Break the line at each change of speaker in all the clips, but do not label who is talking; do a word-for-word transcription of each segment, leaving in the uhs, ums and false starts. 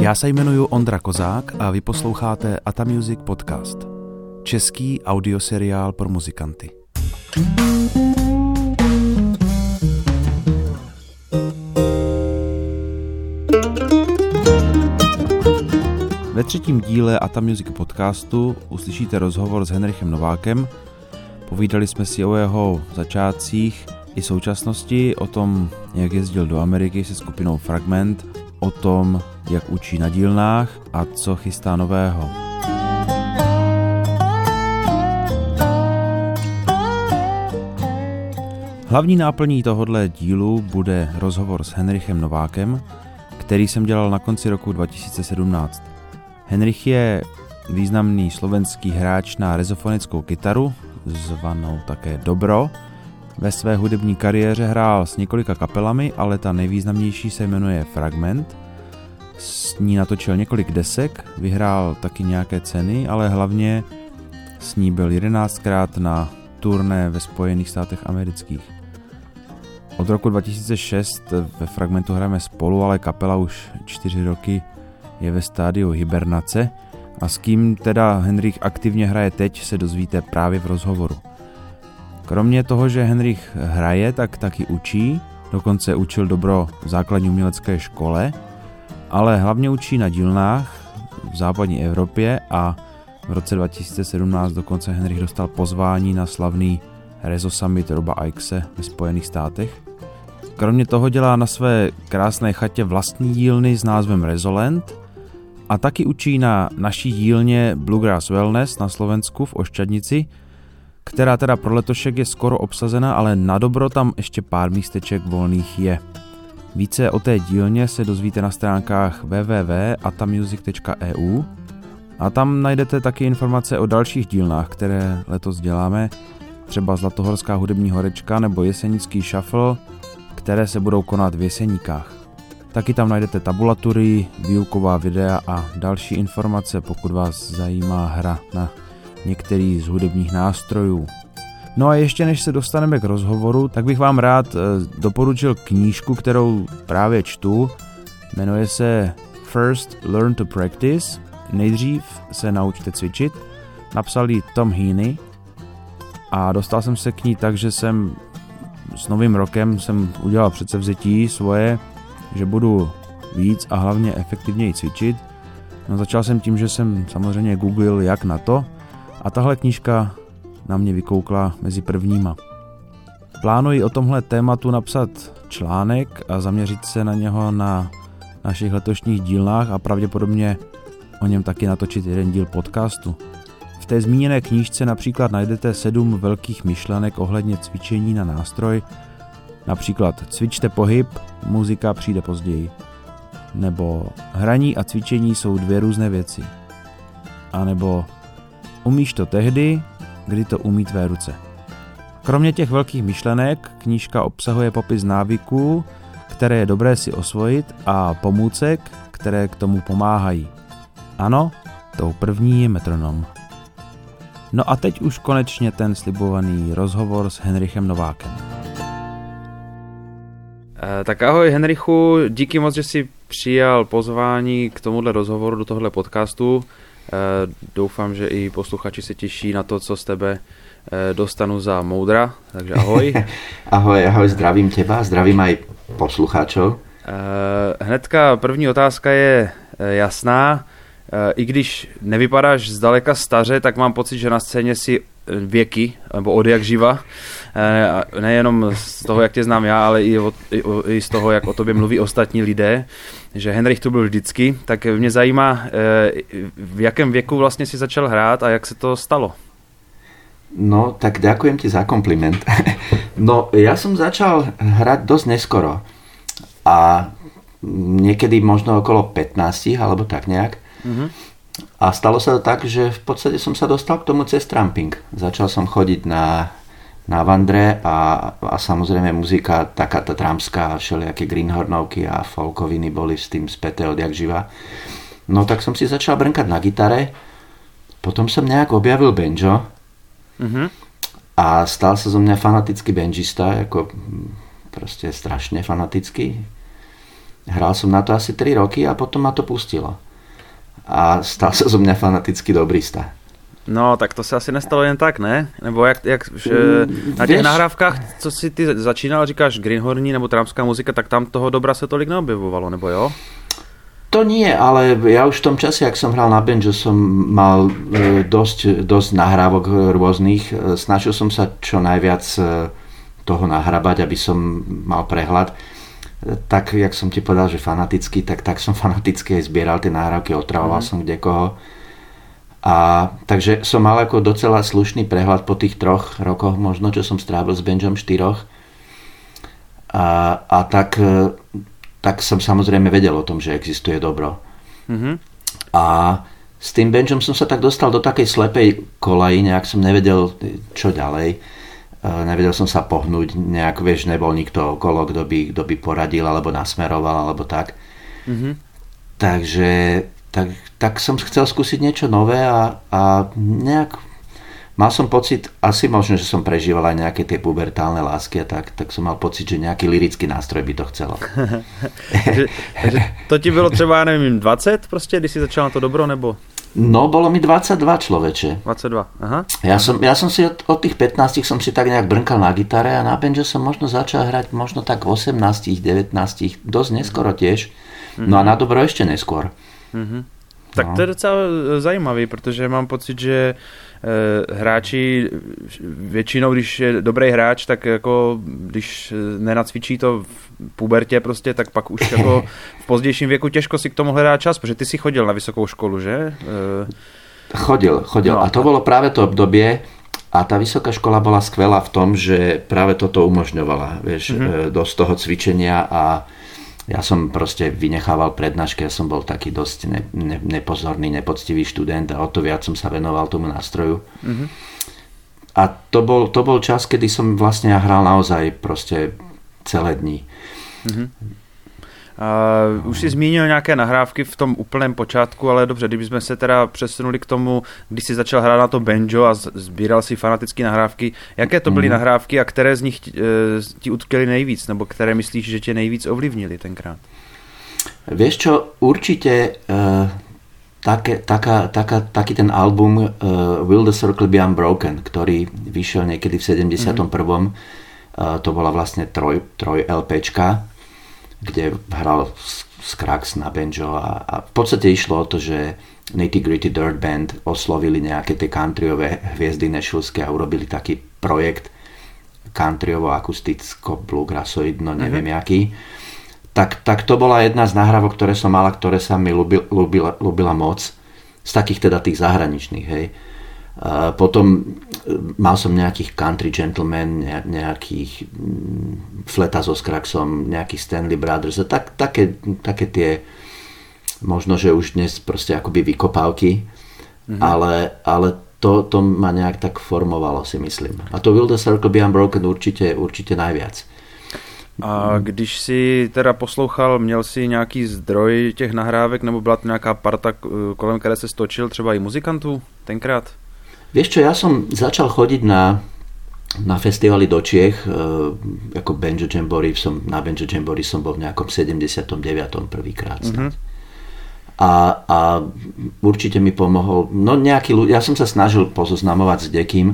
Já se jmenuji Ondra Kozák a vy posloucháte Ata Music Podcast. Český audioseriál pro muzikanty. Ve třetím díle Ata Music Podcastu uslyšíte rozhovor s Henrichem Novákem. Povídali jsme si o jeho začátcích i současnosti, o tom, jak jezdil do Ameriky se skupinou Fragment, o tom, jak učí na dílnách a co chystá nového. Hlavní náplní tohodle dílu bude rozhovor s Henrichem Novákem, který jsem dělal na konci roku dva tisíce sedmnáct. Henrich je významný slovenský hráč na rezofonickou kytaru, zvanou také Dobro. Ve své hudební kariéře hrál s několika kapelami, ale ta nejvýznamnější se jmenuje Fragment. S ní natočil několik desek, vyhrál taky nějaké ceny, ale hlavně s ní byl jedenáctkrát na turné ve Spojených státech amerických. Od roku dva tisíce šest ve Fragmentu hrajeme spolu, ale kapela už čtyři roky je ve stádiu hibernace a s kým teda Henrich aktivně hraje teď, se dozvíte právě v rozhovoru. Kromě toho, že Henrich hraje, tak taky učí, dokonce učil Dobro v základní umělecké škole, ale hlavně učí na dílnách v západní Evropě a v roce dva tisíce sedmnáct dokonce Henrich dostal pozvání na slavný Rezo Summit Roba Ikese ve Spojených státech. Kromě toho dělá na své krásné chatě vlastní dílny s názvem Rezoland a taky učí na naší dílně Bluegrass Wellness na Slovensku v Ošťadnici, která teda pro letošek je skoro obsazena, ale na Dobro tam ještě pár místeček volných je. Více o té dílně se dozvíte na stránkách w w w tečka atamusic tečka e u a tam najdete taky informace o dalších dílnách, které letos děláme, třeba Zlatohorská hudební horečka nebo Jesenický shuffle, které se budou konat v Jeseníkách. Taky tam najdete tabulatury, výuková videa a další informace, pokud vás zajímá hra na některý z hudebních nástrojů. No a ještě než se dostaneme k rozhovoru, tak bych vám rád doporučil knížku, kterou právě čtu. Jmenuje se First Learn to Practice. Nejdřív se naučte cvičit. Napsal ji Tom Heaney a dostal jsem se k ní tak, že jsem s novým rokem jsem udělal předsevzetí svoje, že budu víc a hlavně efektivněji cvičit. No, začal jsem tím, že jsem samozřejmě googlil jak na to a tahle knížka na mě vykoukla mezi prvníma. Plánuji o tomhle tématu napsat článek a zaměřit se na něho na našich letošních dílnách a pravděpodobně o něm taky natočit jeden díl podcastu. V té zmíněné knížce například najdete sedm velkých myšlenek ohledně cvičení na nástroj, například cvičte pohyb, muzika přijde později. Nebo hraní a cvičení jsou dvě různé věci. A nebo umíš to tehdy, kdy to umí tvé ruce. Kromě těch velkých myšlenek knížka obsahuje popis návyků, které je dobré si osvojit a pomůcek, které k tomu pomáhají. Ano, tou první je metronom. No a teď už konečně ten slibovaný rozhovor s Henrichem Novákem. E, tak ahoj Henrichu, díky moc, že jsi přijal pozvání k tomuhle rozhovoru do tohle podcastu. E, doufám, že i posluchači se těší na to, co z tebe e, dostanu za moudra, takže ahoj.
Ahoj, ahoj, zdravím teba, zdravím aj posluchačov.
E, hnedka první otázka je e, jasná. E, I když nevypadáš zdaleka staře, tak mám pocit, že na scéně si věky, nebo od jak živa. E, nejenom z toho, jak tě znám já, ale i, od, i, i z toho, jak o tobě mluví ostatní lidé, že Henrich tu byl vždycky. Tak mě zajímá, e, v jakém věku vlastně si začal hrát a jak se to stalo?
No, tak ďakujem ti za kompliment. No, ja som začal hrať dosť neskoro. A niekedy možno okolo pätnásť, alebo tak nejak. Mm-hmm. A stalo sa to tak, že v podstate som sa dostal k tomu cez tramping. Začal som chodiť na, na vandre a, a samozrejme muzika, taká tá trampská, všelijaké greenhornovky a folkoviny boli s tým späté odjak živa. No tak som si začal brnkať na gitare, potom som nejak objavil banjo. Mm-hmm. A stal sa zo mňa fanatický banjista, ako proste strašne fanatický. Hral som na to asi tri roky a potom ma to pustilo. A stal sa zo mňa fanatický dobrista.
No, tak to se asi nestalo jen tak, ne? Nebo jak, jak že na těch nahrávkách, co si ty začínal, říkáš greenhorní nebo trámská muzika, tak tam toho dobra se tolik neobjevovalo, nebo jo?
To nie, ale ja už v tom čase, ak som hral na banjo, som mal dosť, dosť nahrávok rôznych. Snažil som sa čo najviac toho nahrabať, aby som mal prehľad. Tak, jak som ti povedal, že fanaticky, tak, tak som fanaticky aj zbieral tie nahrávky, otravoval mm. som kdekoho. A takže som mal ako docela slušný prehľad po tých troch rokoch, možno, čo som strávil s banjom štyroch. A, a tak, tak som samozrejme vedel o tom, že existuje dobro. Mm-hmm. A s tým banjom som sa tak dostal do takej slepej kolaji, nejak som nevedel, čo ďalej. Nevedel som sa pohnúť, nejak, vieš, nebol nikto okolo, kto by, kto by poradil, alebo nasmeroval, alebo tak. Mm-hmm. Takže tak, tak som chcel skúsiť niečo nové a, a nejak mal som pocit, asi možno, že som prežíval aj nejaké tie pubertálne lásky a tak, tak som mal pocit, že nejaký lyrický nástroj by to chcelo.
takže, takže to ti bylo třeba, neviem, dvacet prostě, když si začal na to dobro, nebo?
No, bolo mi dvadsaťdva, človeče.
dvadsaťdva, aha.
Ja som, ja som si od, od tých pätnástich som si tak nejak brnkal na gitare a na banjo som možno začal hrať možno tak v osemnástich, devätnástich, dosť neskoro tiež. No a na dobro ešte neskôr.
Mm-hmm. Tak no. To je docela zajímavý, protože mám pocit, že e, hráči většinou, když je dobrý hráč, tak jako když nenacvičí to v pubertě prostě, tak pak už jako v pozdějším věku těžko si k tomu hledá čas, protože ty si chodil na vysokou školu, že?
E... Chodil, chodil. No. A to bolo práve to obdobie a tá vysoká škola bola skvelá v tom, že práve toto umožňovala, vieš, mm-hmm. dosť toho cvičenia a ja som proste vynechával prednášky, ja som bol taký dosť ne, ne, nepozorný, nepoctivý študent a o to viac som sa venoval tomu nástroju. Mm-hmm. A to bol, to bol čas, kedy som vlastne hral naozaj proste celé dní. Mm-hmm.
Uh, už si zmínil nějaké nahrávky v tom úplném počátku, ale dobře, kdybychom se teda přesunuli k tomu, když jsi začal hrát na to banjo a sbíral si fanatické nahrávky, jaké to byly mm. nahrávky a které z nich uh, ti utkvěly nejvíc, nebo které myslíš, že tě nejvíc ovlivnili tenkrát?
Vieš čo, určite uh, také, taká, taká, taký ten album uh, Will the Circle Be Unbroken, ktorý vyšiel niekedy v sedemdesiatom prvom. Mm. Uh, to bola vlastne troj, troj LPčka, kde hral Skrax na banjo a, a v podstate išlo o to, že Nitty Gritty Dirt Band oslovili nejaké tie countryové hviezdy nešvilské a urobili taký projekt countryovo-akusticko-bluegrassoidno, neviem mm-hmm. jaký. Tak, tak to bola jedna z nahrávok, ktoré som mala, ktoré sa mi ľúbila, ľúbila moc. Z takých teda tých zahraničných, hej. Uh, potom mal som nejakých Country Gentlemen, nejakých Fleta so Skraxom, nejakých Stanley Brothers a tak, také, také tie možno, že už dnes proste akoby vykopávky, mm-hmm. ale, ale to, to ma nejak tak formovalo, si myslím. A to Will the Circle Be Unbroken určite, určite najviac.
A když si teda poslouchal, měl si nějaký zdroj těch nahrávek, nebo byla to nějaká parta, kolem které se stočil, třeba i muzikantů tenkrát?
Vieš čo, ja som začal chodiť na, na festivaly do Čiech, e, ako Banjo Jamboree, som, na Banjo Jamboree som bol v nejakom sedemdesiatom deviatom prvýkrát. Mm-hmm. A, a určite mi pomohol, no nejaký ľudia, ja som sa snažil pozoznamovať s dekým, e,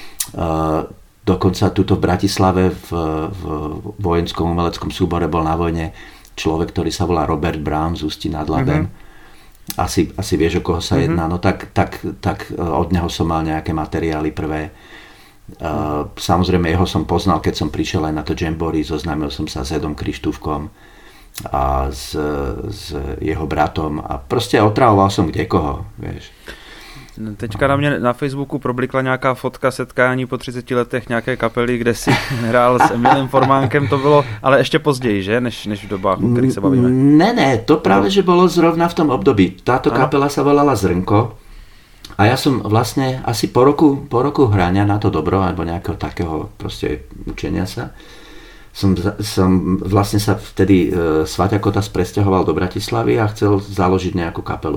dokonca tuto v Bratislave v, v vojenskom umeleckom súbore bol na vojne človek, ktorý sa volá Robert Brown z Ústí nad Labem. Mm-hmm. Asi, asi vieš, o koho sa mm-hmm. jedná, no tak, tak, tak od neho som mal nejaké materiály prvé. Uh, samozrejme, jeho som poznal, keď som prišiel aj na to Jamboree, zoznámil som sa s Edom Krištúfkom a s, s jeho bratom a proste otravoval som kdekoho, vieš.
Teďka na mě na Facebooku problikla nějaká fotka setkání po třiceti letech nějaké kapely, kde si hrál s Emilem Formánkem, to bylo ale ještě později, že? Než, než v dobách, o kterých se bavíme.
Ne, ne, to práve, že bolo zrovna v tom období. Táto kapela sa volala Zrnko a ja som vlastne asi po roku, po roku hrania na to dobro, alebo nejakého takého proste učenia sa, som, som vlastne sa vtedy e, Svaťa Kotas presťahoval do Bratislavy a chcel založiť nejakú kapelu.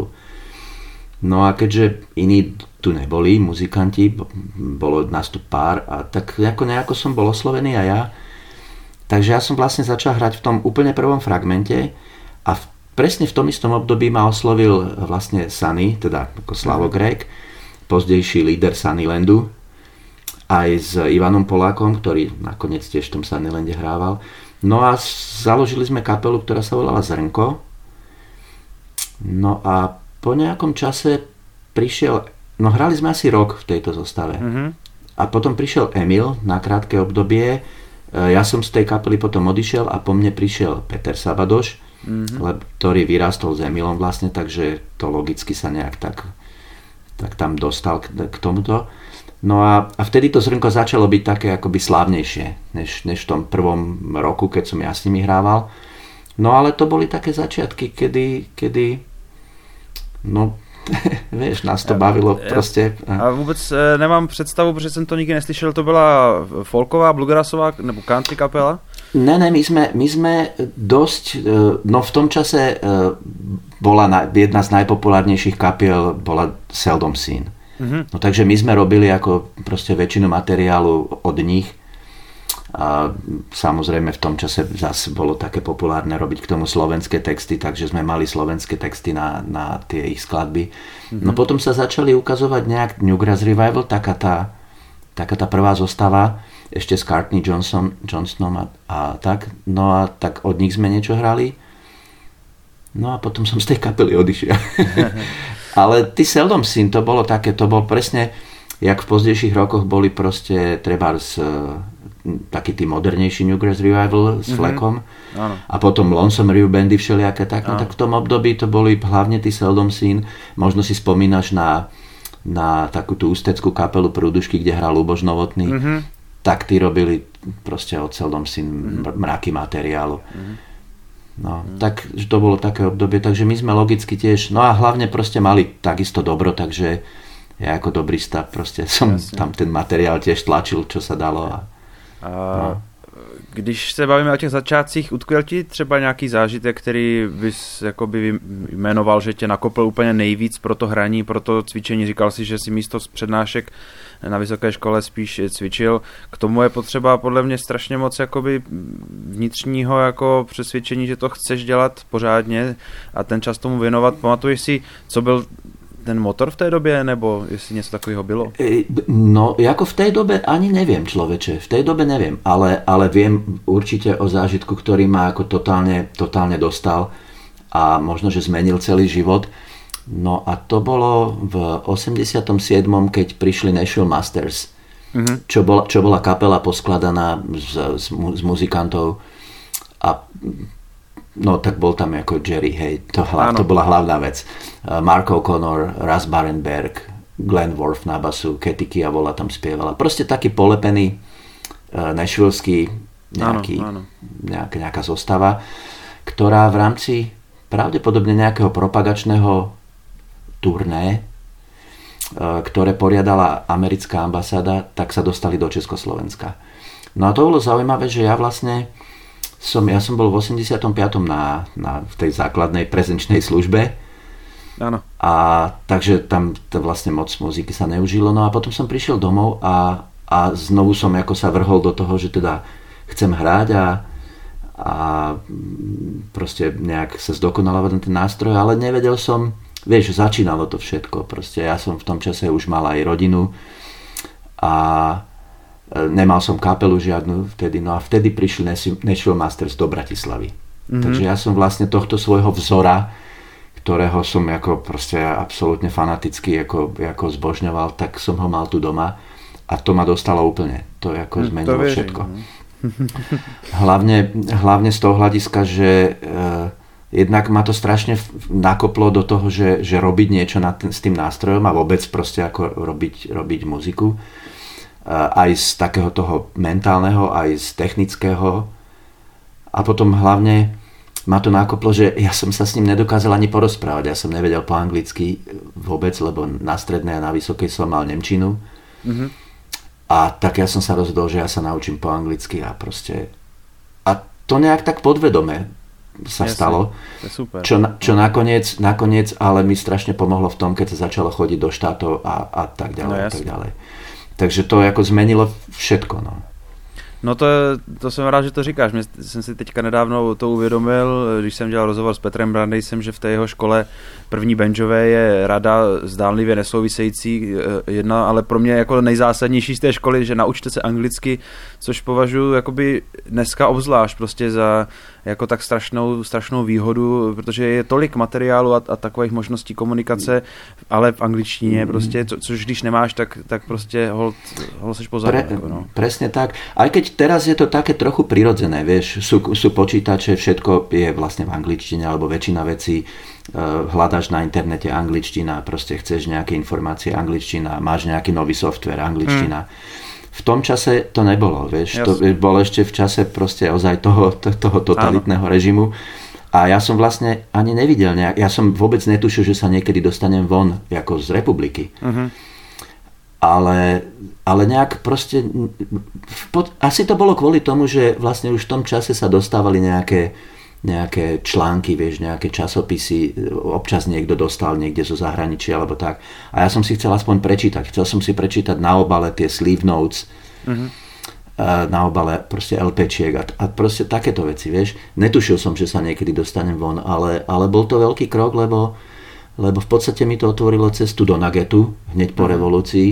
No a keďže iní tu neboli, muzikanti, bolo nás tu pár, a tak nejako, nejako som bol oslovený a ja. Takže ja som vlastne začal hrať v tom úplne prvom fragmente A v, presne v tom istom období ma oslovil vlastne Sunny, teda ako Slavo Grék, pozdejší líder Sunnylandu, aj s Ivanom Polákom, ktorý nakoniec tiež v tom Sunnylande hrával. No a založili sme kapelu, ktorá sa volala Zrnko. No a po nejakom čase prišiel, no hrali sme asi rok v tejto zostave. Mm-hmm. A potom prišiel Emil na krátke obdobie. Ja som z tej kapely potom odišiel a po mne prišiel Peter Sabadoš, mm-hmm. ktorý vyrástol s Emilom vlastne, takže to logicky sa nejak tak, tak tam dostal k, k tomuto. No a, a vtedy to Zrnko začalo byť také akoby slávnejšie, než, než v tom prvom roku, keď som ja s nimi hrával. No ale to boli také začiatky, kedy, kedy no vieš, nás to bavilo ja, prostě.
A vůbec nemám představu, protože jsem to nikdy neslyšel, to byla folková, bluegrassová nebo country kapela?
Ne, ne, my sme, my sme dosť, no v tom čase bola na, jedna z najpopulárnejších kapiel bola Seldom Scene. Mm-hmm. No takže my sme robili ako proste väčšinu materiálu od nich. A samozrejme v tom čase zase bolo také populárne robiť k tomu slovenské texty, takže sme mali slovenské texty na, na tie ich skladby. Mm-hmm. No potom sa začali ukazovať nejak Newgrass Revival, taká tá, taká tá prvá zostava, ešte s Courtney Johnson, Johnsonom a, a tak. No a tak od nich sme niečo hrali. No a potom som z tej kapely odišiel. Ale ty Seldom Scene, to bolo také, to bol presne, jak v pozdejších rokoch boli proste trebárs taký tý modernejší Newgrass Revival s mm-hmm. Fleckom áno. A potom Lonesome Revue bandy všelijaké tak, no tak v tom období to boli hlavne tí Seldom Scene. Možno si spomínaš na, na takú tú ústeckú kapelu Prúdušky, kde hral Luboš Novotný, mm-hmm. tak tí robili proste od Seldom Scene mm-hmm. mraky materiálu. Mm-hmm. No, mm. tak to bolo také obdobie, takže my sme logicky tiež, no a hlavne proste mali takisto dobro, takže ja ako dobrý stav proste som Jasne. Tam ten materiál tiež tlačil, čo sa dalo. A,
a no. Když se bavíme o těch začátcích, utkvěl ti třeba nějaký zážitek, který bys jakoby jmenoval, že tě nakopl úplně nejvíc pro to hraní, pro to cvičení? Říkal si, že si místo přednášek na vysoké škole spíš cvičil. K tomu je potřeba podle mě strašně moc jakoby vnitřního jako přesvědčení, že to chceš dělat pořádně a ten čas tomu věnovat. Pamatuješ si, co byl ten motor v té době, nebo jestli něco takového bylo?
No, jako v tej dobe ani neviem, človeče. V tej dobe neviem, ale, ale viem určite o zážitku, ktorý ma ako totálne, totálne dostal a možno, že zmenil celý život. No a to bolo v osemdesiatom siedmom, keď prišli Nashville Masters, mm-hmm. čo, bola, čo bola kapela poskladaná z, z, z muzikantov a no tak bol tam ako Jerry, hej, to, hla, to bola hlavná vec. Mark O'Connor, Russ Barenberg, Glenn Worf na basu, Katie Kiavola tam spievala. Proste taký polepený uh, nashvilleský nejaký, áno, áno. Nejak, nejaká zostava, ktorá v rámci pravdepodobne nejakého propagačného turné, uh, ktoré poriadala americká ambasáda, tak sa dostali do Československa. No a to bolo zaujímavé, že ja vlastne Som, ja som bol v osemdesiatom piatom na, na v tej základnej prezenčnej službe.
Áno.
A takže tam to vlastne moc muziky sa neužilo. No a potom som prišiel domov a, a znovu som ako sa vrhol do toho, že teda chcem hrať a, a proste nejak sa zdokonalovať ten nástroj, ale nevedel som, vieš, začínalo to všetko. Proste ja som v tom čase už mal aj rodinu a nemal som kapelu žiadnu vtedy, no a vtedy prišli Nashville Masters do Bratislavy. Mm-hmm. Takže ja som vlastne tohto svojho vzora, ktorého som ako proste absolútne fanaticky ako, ako zbožňoval, tak som ho mal tu doma a to ma dostalo úplne. To ako zmenilo to všetko. hlavne, hlavne z toho hľadiska, že uh, jednak ma to strašne nakoplo do toho, že, že robiť niečo na ten, s tým nástrojom a vôbec proste ako robiť, robiť muziku. Aj z takého toho mentálneho, aj z technického. A potom hlavne ma to nakoplo, že ja som sa s ním nedokázal ani porozprávať. Ja som nevedel po anglicky vôbec, lebo na strednej a na vysokej som mal nemčinu. Mm-hmm. A tak ja som sa rozhodol, že ja sa naučím po anglicky a proste... A to nejak tak podvedome sa Jasne, stalo. Super. Čo, čo nakoniec, nakoniec ale mi strašne pomohlo v tom, keď sa začalo chodiť do štátov a, a tak ďalej. No, a tak ďalej. Takže to ako zmenilo všetko. No.
No to, to jsem rád, že to říkáš. Mě jsem si teďka nedávno to uvědomil, když jsem dělal rozhovor s Petrem Brandejsem, že v té jeho škole první benžové je rada zdánlivě nesouvisející jedna, ale pro mě jako nejzásadnější z té školy, že naučte se anglicky, což považuji jakoby dneska obzvlášť prostě za jako tak strašnou, strašnou výhodu, protože je tolik materiálu a, a takových možností komunikace, ale v angličtině prostě, co, což když nemáš, tak, tak prostě hol, hol seš pozadu.
Pre,
jako no.
Presne tak. Aj keď teraz je to také trochu prirodzené, vieš, sú, sú počítače, všetko je vlastne v angličtine, alebo väčšina vecí uh, hľadaš na internete angličtina, proste chceš nejaké informácie angličtina, máš nejaký nový software angličtina. Hmm. V tom čase to nebolo, vieš, to bolo ešte v čase proste ozaj toho, toho totalitného režimu a ja som vlastne ani nevidel nejak, ja som vôbec netušil, že sa niekedy dostanem von ako z republiky. Uh-huh. Ale, ale nejak proste pod, asi to bolo kvôli tomu, že vlastne už v tom čase sa dostávali nejaké, nejaké články, vieš, nejaké časopisy, občas niekto dostal niekde zo zahraničia alebo tak. A ja som si chcel aspoň prečítať. Chcel som si prečítať na obale tie sleeve notes, uh-huh. na obale proste LPčiek a, a proste takéto veci, vieš. Netušil som, že sa niekedy dostanem von, ale, ale bol to veľký krok, lebo, lebo v podstate mi to otvorilo cestu do Nagetu hneď po uh-huh. revolúcii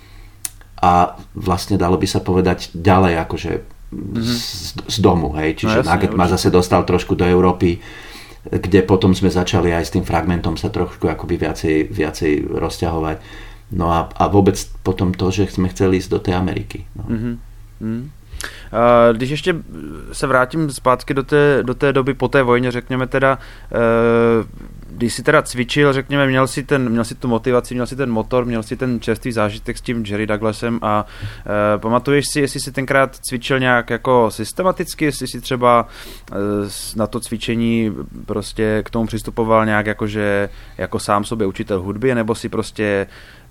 a vlastne dalo by sa povedať ďalej akože Z, z domu, hej, čiže no, Nugget ma zase dostal trošku do Európy, kde potom sme začali aj s tým fragmentom sa trošku akoby viacej, viacej rozťahovať. No a, a vôbec potom to, že sme chceli ísť do tej Ameriky. No. Mm-hmm.
Uh, když ještě se vrátím zpátky do té, do té doby po té vojně, řekněme teda, uh, když si teda cvičil, řekněme, měl si, ten, měl si tu motivaci, měl si ten motor, měl si ten čerstvý zážitek s tím Jerry Douglasem a uh, pamatuješ si, jestli si tenkrát cvičil nějak jako systematicky, jestli si třeba uh, na to cvičení prostě k tomu přistupoval nějak jakože jako sám sobě učitel hudby, nebo si prostě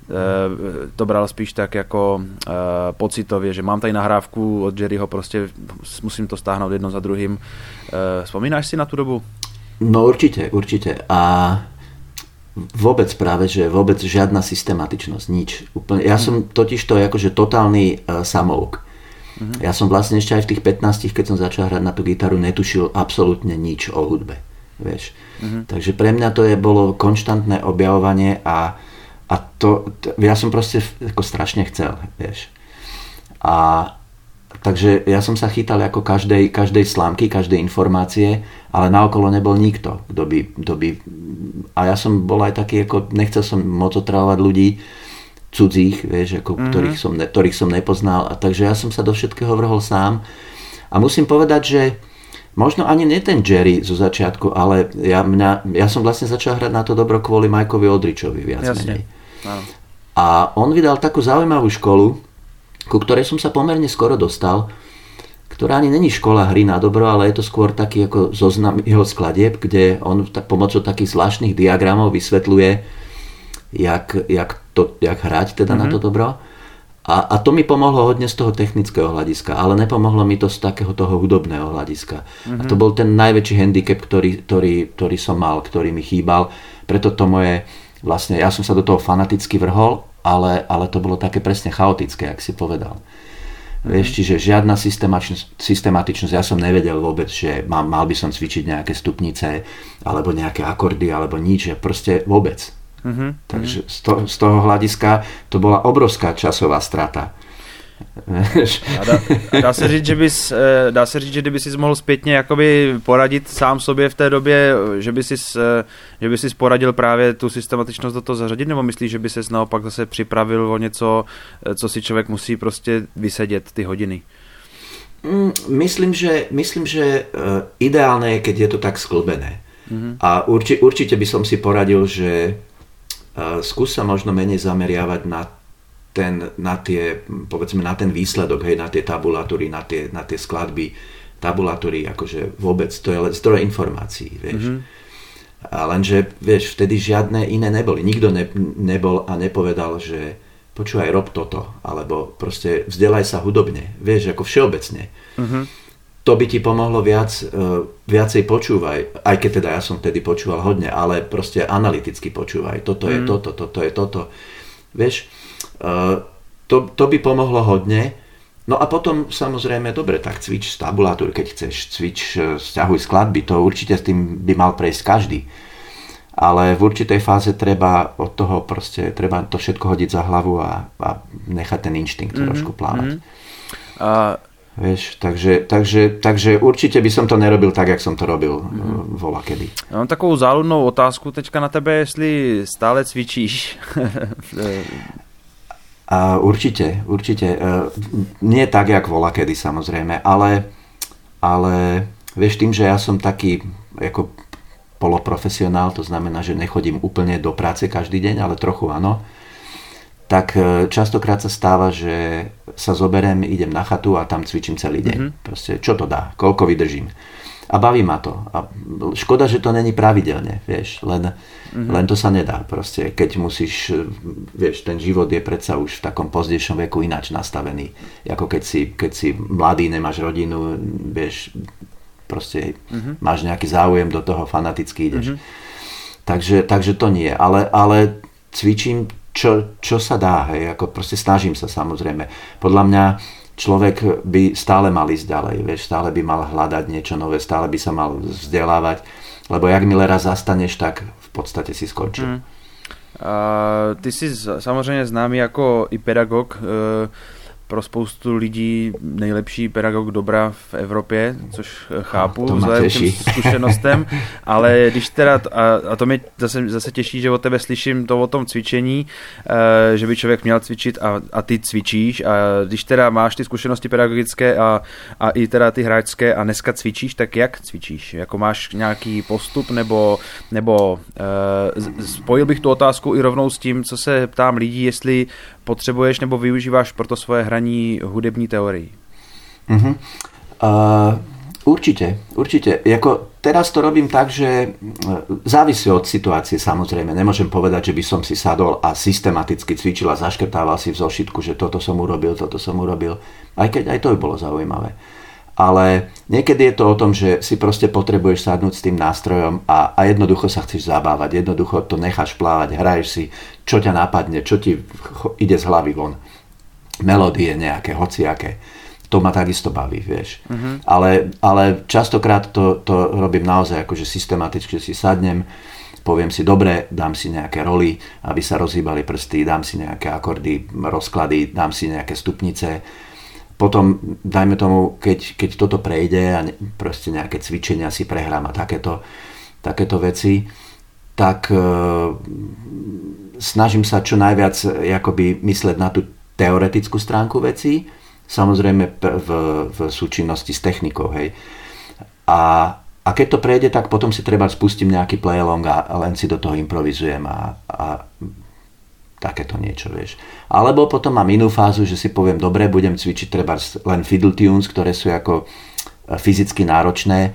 to bral spíš tak jako uh, pocitově, že mám tady nahrávku od Jerryho, prostě musím to stáhnout jedno za druhým. Uh, vzpomínáš si na tú dobu?
No určite, určite. A vôbec práve, že vôbec žiadna systematičnosť, nič. Úplne. Ja som totiž to akože totálny uh, samouk. Uh-huh. Ja som vlastne ešte aj v tých pätnástich, keď som začal hrať na tú gitaru, netušil absolútne nič o hudbe. Vieš. Uh-huh. Takže pre mňa to je bolo konštantné objavovanie a A to, to, ja som proste ako strašne chcel, vieš. A takže ja som sa chytal ako každej, každej slámky, každej informácie, ale naokolo nebol nikto, kto by, kto by... A ja som bol aj taký, ako nechcel som moc otravovať ľudí cudzích, vieš, ako, mm-hmm. ktorých, som ne, ktorých som nepoznal. A takže ja som sa do všetkého vrhol sám. A musím povedať, že možno ani nie ten Jerry zo začiatku, ale ja, mňa, ja som vlastne začal hrať na to dobro kvôli Mikeovi Aldrichovi viac Jasne. menej. Áno. A on vydal takú zaujímavú školu, ku ktorej som sa pomerne skoro dostal, ktorá ani není škola hry na dobro, ale je to skôr taký ako zoznam jeho skladieb, kde on tak, pomocou takých zvláštnych diagramov vysvetľuje, jak, jak, to, jak hrať teda mm-hmm. na to dobro. A, a to mi pomohlo hodne z toho technického hľadiska, ale nepomohlo mi to z takého toho hudobného hľadiska. Mm-hmm. A to bol ten najväčší handicap, ktorý, ktorý, ktorý som mal, ktorý mi chýbal. Preto to moje, vlastne ja som sa do toho fanaticky vrhol, ale, ale to bolo také presne chaotické, jak si povedal. Mm-hmm. Vieš, čiže žiadna systematičnosť, systematičnosť, ja som nevedel vôbec, že mal, mal by som cvičiť nejaké stupnice, alebo nejaké akordy, alebo nič, že proste vôbec. Mm-hmm. Takže z, to, z toho hľadiska to bola obrovská časová strata.
A dá, dá se říct, že bys, dá se říct, že kdyby jsi mohl zpětně jakoby poradit sám sobě v té době, že by jsi, že by jsi poradil právě tu systematičnost do toho zařadit, nebo myslíš, že by ses naopak zase připravil o něco, co si člověk musí prostě vysedět ty hodiny?
Myslím, že, myslím, že ideálne je, keď je to tak sklbené. Mm-hmm. A urči, určite by som si poradil, že skús sa možno menej zameriavať na ten, na tie, povedzme, na ten výsledok, hej, na tie tabulatúry, na tie, na tie skladby. Tabulatúry, akože vôbec, to je len zdroj informácií, vieš. Mm-hmm. A lenže, vieš, vtedy žiadne iné neboli. Nikto ne, nebol a nepovedal, že počúvaj, rob toto, alebo proste vzdelaj sa hudobne, vieš, ako všeobecne. Mm-hmm. To by ti pomohlo viac, viacej počúvaj, aj keď teda ja som vtedy počúval hodne, ale proste analyticky počúvaj. Toto je mm. toto, toto je toto. Vieš, to, to by pomohlo hodne No a potom samozrejme, dobre, tak cvič z tabulatúry, keď chceš, cvič, sťahuj skladby, to určite s tým by mal prejsť každý. Ale v určitej fáze treba od toho proste, treba to všetko hodiť za hlavu a, a nechať ten inštinkt mm-hmm. trošku plávať. Mm-hmm. A... Vieš, takže, takže, takže určite by som to nerobil tak, jak som to robil mm-hmm. volakedy.
Já mám takovou záludnou otázku teďka na tebe, jestli stále cvičíš.
A určite, určite. Nie tak, jak volakedy samozrejme, ale, ale vieš, tým, že ja som taký ako poloprofesionál, to znamená, že nechodím úplne do práce každý deň, ale trochu áno, tak častokrát sa stáva, že sa zoberiem, idem na chatu a tam cvičím celý deň. Mm-hmm. Proste, čo to dá, koľko vydržím. A baví ma to. A škoda, že to není pravidelne, vieš, len, mm-hmm. len to sa nedá. Proste, keď musíš, vieš, ten život je predsa už v takom pozdejšom veku ináč nastavený. Ako keď si, keď si mladý, nemáš rodinu, vieš, proste mm-hmm. máš nejaký záujem, do toho fanaticky ideš. Mm-hmm. Takže, takže to nie. Ale, ale cvičím, čo, čo sa dá, hej, ako proste snažím sa samozrejme. Podľa mňa človek by stále mal ísť ďalej, vieš, stále by mal hľadať niečo nové, stále by sa mal vzdelávať, lebo jakmile raz zastaneš, tak v podstate si skončil. Mm.
Uh, ty jsi samozřejmě známý jako i pedagog, uh, pro spoustu lidí nejlepší pedagog dobra v Evropě, což chápu vzhledem k těm zkušenostem, ale když teda, a, a to mě zase, zase těší, že od tebe slyším to o tom cvičení, e, že by člověk měl cvičit a, a ty cvičíš a když teda máš ty zkušenosti pedagogické a, a i teda ty hráčské a dneska cvičíš, tak jak cvičíš? Jako máš nějaký postup nebo, nebo e, spojil bych tu otázku i rovnou s tím, co se ptám lidí, jestli potřebuješ nebo využíváš pro to svoje hraní hudební teórii?
Uh-huh. Uh, určite, určite. Jako, teraz to robím tak, že závisí od situácie samozrejme. Nemôžem povedať, že by som si sadol a systematicky cvičil a zaškrtával si v zošitku, že toto som urobil, toto som urobil. Aj keď aj to by bolo zaujímavé. Ale niekedy je to o tom, že si proste potrebuješ sadnúť s tým nástrojom a, a jednoducho sa chceš zabávať, jednoducho to necháš plávať, hraješ si, čo ťa napadne, čo ti ide z hlavy von. Melódie nejaké, hociaké. To ma takisto baví, vieš. Uh-huh. Ale, ale častokrát to, to robím naozaj akože systematicky, že si sadnem, poviem si, dobre, dám si nejaké roly, aby sa rozhýbali prsty, dám si nejaké akordy, rozklady, dám si nejaké stupnice. Potom, dajme tomu, keď, keď toto prejde a ne, proste nejaké cvičenia si prehrám a takéto, takéto veci, tak e, snažím sa čo najviac jakoby mysleť na tú teoretickú stránku vecí, samozrejme v, v súčinnosti s technikou. Hej. A, a keď to prejde, tak potom si treba spustím nejaký play-along a len si do toho improvizujem a, a takéto niečo, vieš. Alebo potom mám inú fázu, že si poviem, dobre, budem cvičiť treba len fiddle tunes, ktoré sú ako fyzicky náročné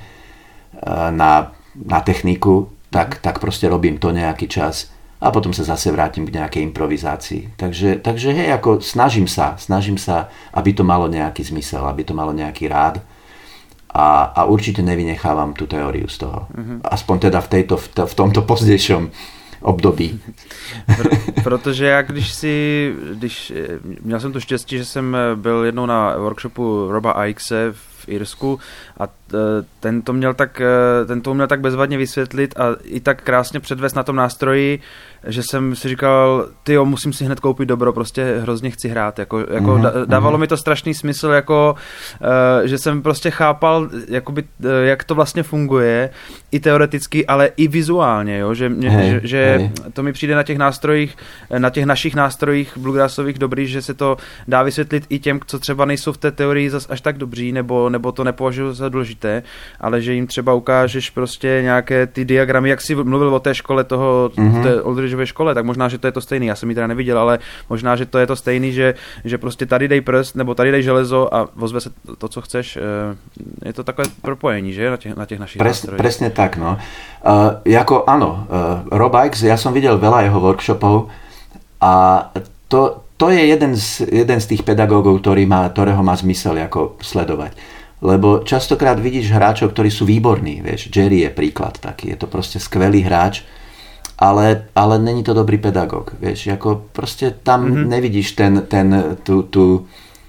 na, na techniku, tak, tak proste robím to nejaký čas a potom sa zase vrátim k nejakej improvizácii. Takže, takže hej, ako snažím sa, snažím sa, aby to malo nejaký zmysel, aby to malo nejaký rád a, a určite nevynechávam tú teóriu z toho. Mm-hmm. Aspoň teda v, tejto, v, v tomto pozdejšom období.
Protože já když si, když, měl jsem to štěstí, že jsem byl jednou na workshopu Roba Ickese v Irsku a ten to měl tak, ten to měl tak bezvadně vysvětlit a i tak krásně předvést na tom nástroji, že jsem si říkal, tyjo, musím si hned koupit dobro, prostě hrozně chci hrát. Jako, jako mm-hmm. dávalo mi to strašný smysl, jako, že jsem prostě chápal, jakoby, jak to vlastně funguje, i teoreticky, ale i vizuálně, jo? Že, mě, hey, že, že hey. To mi přijde na těch nástrojích, na těch našich nástrojích bluegrassových dobrý, že se to dá vysvětlit i těm, co třeba nejsou v té teorii zas až tak dobří, nebo, nebo to nepovažují za důležité, ale že jim třeba ukážeš prostě nějaké ty diagramy, jak jsi mluvil o té škole toho, mm-hmm. té Oldridgeově škole, tak možná, že to je to stejný, já jsem ji teda neviděl, ale možná, že to je to stejný, že, že prostě tady dej prst, nebo tady dej železo a ozve se to, to co chceš. Je to takové propojení, že, na těch, na těch našich
Pres, nástrojích. Presne tak, no. Uh, jako áno, uh, Rob Ickes, ja som videl veľa jeho workshopov a to, to je jeden z, jeden z tých pedagógov, ktorý má, ktorého má zmysel ako sledovať. Lebo častokrát vidíš hráčov, ktorí sú výborní, vieš, Jerry je príklad taký, je to proste skvelý hráč, ale, ale není to dobrý pedagóg, vieš, ako proste tam mm-hmm. nevidíš ten, ten, tú, tú,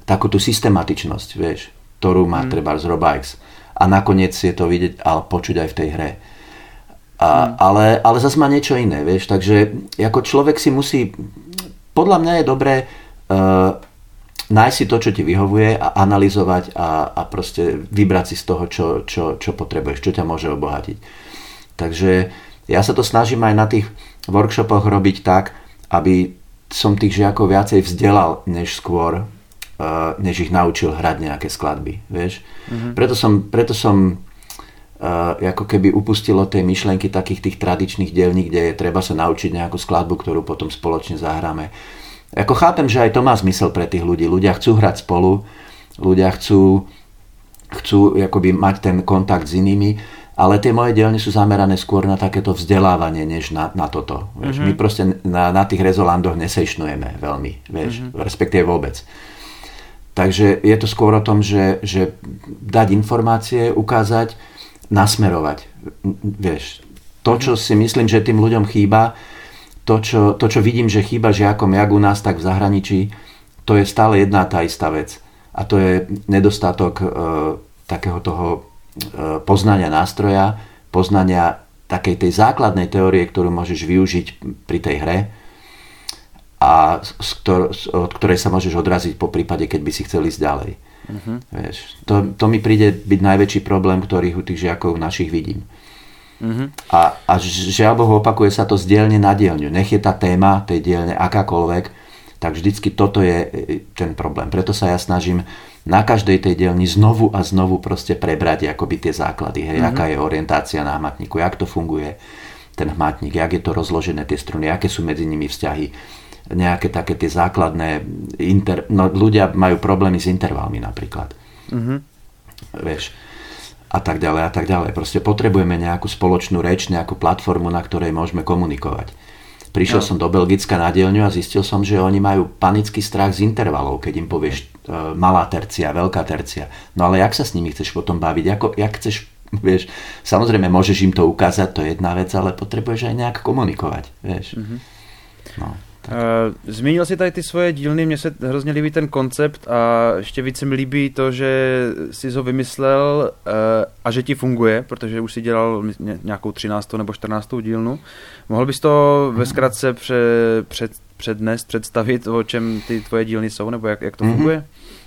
takú tú systematičnosť, vieš, ktorú má mm. treba z Robikes. A nakoniec je to vidieť a počuť aj v tej hre. A, mm. ale, ale zase má niečo iné, vieš, takže ako človek si musí, podľa mňa je dobré uh, nájsť si to, čo ti vyhovuje a analyzovať a, a proste vybrať si z toho, čo, čo, čo potrebuješ, čo ťa môže obohatiť. Takže ja sa to snažím aj na tých workshopoch robiť tak, aby som tých žiakov viacej vzdelal, než skôr, uh, než ich naučil hrať nejaké skladby, vieš. Mm-hmm. Preto som, preto som uh, ako keby upustil od tej myšlenky takých tých tradičných dielní, kde je treba sa naučiť nejakú skladbu, ktorú potom spoločne zahráme. Ako chápem, že aj to má zmysel pre tých ľudí. Ľudia chcú hrať spolu, ľudia chcú, chcú akoby mať ten kontakt s inými, ale tie moje dielne sú zamerané skôr na takéto vzdelávanie, než na, na toto. Vieš. Mm-hmm. My proste na, na tých rezolandoch nesejšnujeme veľmi, vieš, mm-hmm. respektíve vôbec. Takže je to skôr o tom, že, že dať informácie, ukázať, nasmerovať. Vieš, to, čo si myslím, že tým ľuďom chýba, To čo, to, čo vidím, že chýba žiakom jak u nás, tak v zahraničí, to je stále jedna tá istá vec. A to je nedostatok e, takého toho e, poznania nástroja, poznania takej tej základnej teórie, ktorú môžeš využiť pri tej hre a z ktor- od ktorej sa môžeš odraziť po prípade, keď by si chcel ísť ďalej. Uh-huh. Vieš, to, to mi príde byť najväčší problém, ktorý u tých žiakov našich vidím. Uh-huh. A, a žiaľ Bohu, opakuje sa to z dielne na dielňu. Nech je tá téma tej dielne akákoľvek, tak vždycky toto je ten problém. Preto sa ja snažím na každej tej dielni znovu a znovu proste prebrať akoby tie základy. Hej, uh-huh. Aká je orientácia na hmatníku, jak to funguje ten hmatník, jak je to rozložené tie struny, aké sú medzi nimi vzťahy, nejaké také tie základné inter... no, ľudia majú problémy s intervalmi napríklad. Uh-huh. Vieš, a tak ďalej a tak ďalej. Proste potrebujeme nejakú spoločnú reč, nejakú platformu, na ktorej môžeme komunikovať. Prišiel no. som do Belgicka na dielňu a zistil som, že oni majú panický strach z intervalov, keď im povieš uh, malá tercia, veľká tercia. No ale jak sa s nimi chceš potom baviť? Ako, jak chceš, vieš, samozrejme môžeš im to ukázať, to je jedna vec, ale potrebuješ aj nejak komunikovať, vieš. Mm-hmm. No.
Uh, zmínil si tady ty svoje dílny, mně se hrozně líbí ten koncept a ještě víc se mi líbí to, že jsi ho vymyslel uh, a že ti funguje, protože už si dělal nějakou třináctou nebo čtrnáctou dílnu. Mohl bys to ve zkratce pře, před, přednést, představit, o čem ty tvoje dílny jsou, nebo jak, jak to funguje?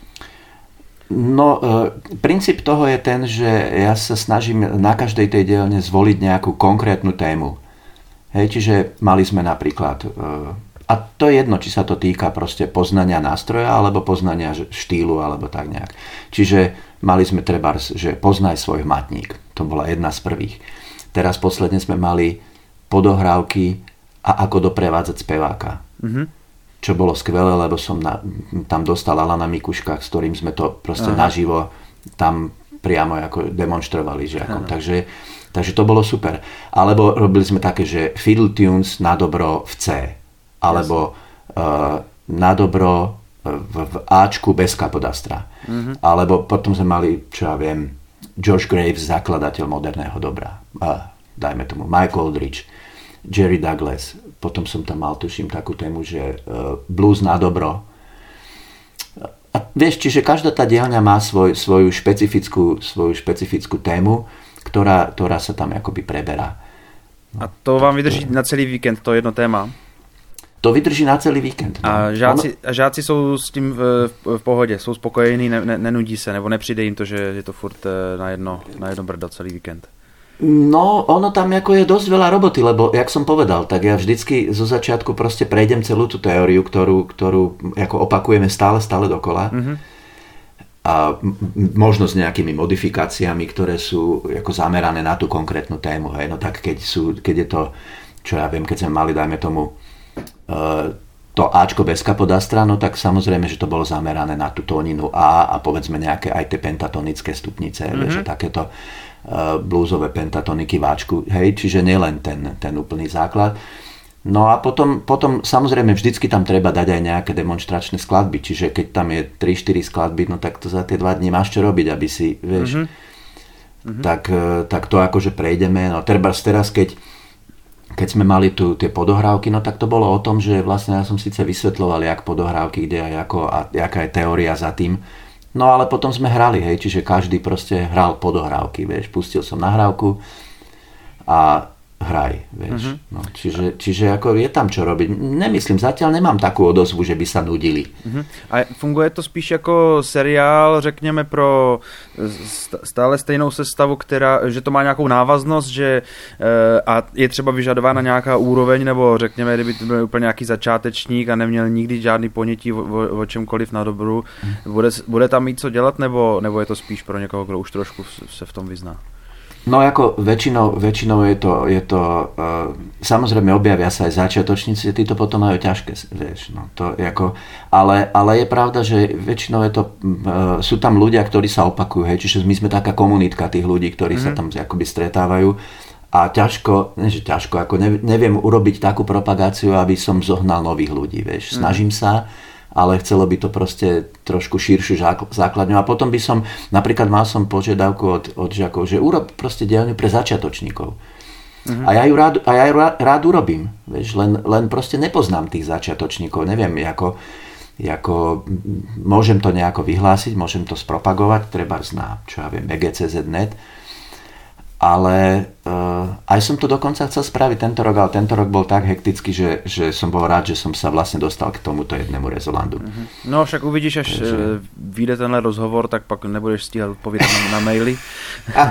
No, uh, princíp toho je ten, že ja sa snažím na každej tej dielne zvoliť nejakú konkrétnu tému. Hej, čiže mali sme napríklad... Uh, A to je jedno, či sa to týka proste poznania nástroja, alebo poznania štýlu, alebo tak nejak. Čiže mali sme trebárs, že poznaj svoj hmatník. To bola jedna z prvých. Teraz posledne sme mali podohrávky a ako doprevádzať speváka. Mm-hmm. Čo bolo skvelé, lebo som na, tam dostal Alana Mikuška, s ktorým sme to proste Aha. naživo tam priamo ako demonštrovali žiakom. Takže, takže to bolo super. Alebo robili sme také, že fiddle tunes na dobro v C. Alebo uh, na dobro v, v Ačku bez kapodastra. Mm-hmm. Alebo potom sme mali, čo ja viem, Josh Graves, zakladateľ moderného dobra. Uh, dajme tomu Mike Aldridge, Jerry Douglas. Potom som tam mal, tuším, takú tému, že uh, blues na dobro. A vieš, čiže každá tá dielňa má svoj, svoju, špecifickú, svoju špecifickú tému, ktorá, ktorá sa tam akoby preberá.
No, a to vám vydrží na celý víkend, to jedno téma?
To vydrží na celý víkend. No.
A žáci, ono... žáci jsou s tím v, v, v pohodě, jsou spokojení, ne, ne, nenudí se, nebo nepřijde jim to, že je to furt na jedno, na jedno brdo celý víkend?
No, ono tam ako je dosť veľa roboty, lebo, jak som povedal, tak ja vždycky zo začiatku proste prejdem celú tú teóriu, ktorú, ktorú ako opakujeme stále, stále dokola. Mm-hmm. A m- možno s nejakými modifikáciami, ktoré sú ako zamerané na tú konkrétnu tému. Hej. No tak keď, sú, keď je to, čo ja viem, keď sme mali, dajme tomu, to Ačko bez kapodastra, no tak samozrejme, že to bolo zamerané na tú tóninu A a povedzme nejaké aj tie pentatonické stupnice, mm-hmm. vieš, takéto uh, bluesové pentatoniky v Ačku, hej, čiže nielen ten, ten úplný základ. No a potom, potom samozrejme vždycky tam treba dať aj nejaké demonstračné skladby, čiže keď tam je tri štyri skladby, no tak to za tie dva dní máš čo robiť, aby si, vieš, mm-hmm. tak, tak to akože prejdeme, no teraz, teraz keď keď keď sme mali tu tie podohrávky, no tak to bolo o tom, že vlastne ja som síce vysvetľoval, jak podohrávky, kde a ako a jaká je teória za tým. No ale potom sme hrali, hej, čiže každý proste hral podohrávky, vieš, pustil som nahrávku a hraj, vieš. Uh-huh. No, čiže, čiže ako je tam čo robiť. Nemyslím, zatiaľ nemám takú odozvu, že by sa nudili.
Uh-huh. A funguje to spíš jako seriál, řekněme, pro stále stejnou sestavu, která, že to má nějakou návaznost, že a je třeba vyžadována nějaká úroveň, nebo řekněme, kdyby to byl úplně nějaký začátečník a neměl nikdy žádný ponětí o, o, o čemkoliv na dobru, uh-huh. bude, bude tam mít co dělat, nebo, nebo je to spíš pro někoho, kdo už trošku se v tom vyzná?
No ako väčšinou, väčšinou je to, je to uh, samozrejme objavia sa aj začiatočníci, tí to potom majú ťažké, vieš, no to je ako, ale, ale je pravda, že väčšinou je to, uh, sú tam ľudia, ktorí sa opakujú, hej, čiže my sme taká komunitka tých ľudí, ktorí mm-hmm. sa tam akoby stretávajú a ťažko, ne, že ťažko, ako neviem urobiť takú propagáciu, aby som zohnal nových ľudí, vieš, snažím mm-hmm. sa, ale chcelo by to proste trošku širšiu základňu. A potom by som, napríklad mal som požiadavku od, od žiakov, že urob proste dielňu pre začiatočníkov. Uh-huh. A ja ju rád, a ja ju rád, rád urobím. Vieš, len, len proste nepoznám tých začiatočníkov. Neviem, ako, ako, môžem to nejako vyhlásiť, môžem to spropagovať, treba na, čo ja viem, e gé cé zet bodka net. Ale uh, aj som to dokonca chcel spraviť tento rok, ale tento rok bol tak hektický, že, že som bol rád, že som sa vlastne dostal k tomuto jednému rezolandu.
Mm-hmm. No však uvidíš, až Takže... vyjde tenhle rozhovor, tak pak nebudeš stíhat odpovědět na, na maily. a,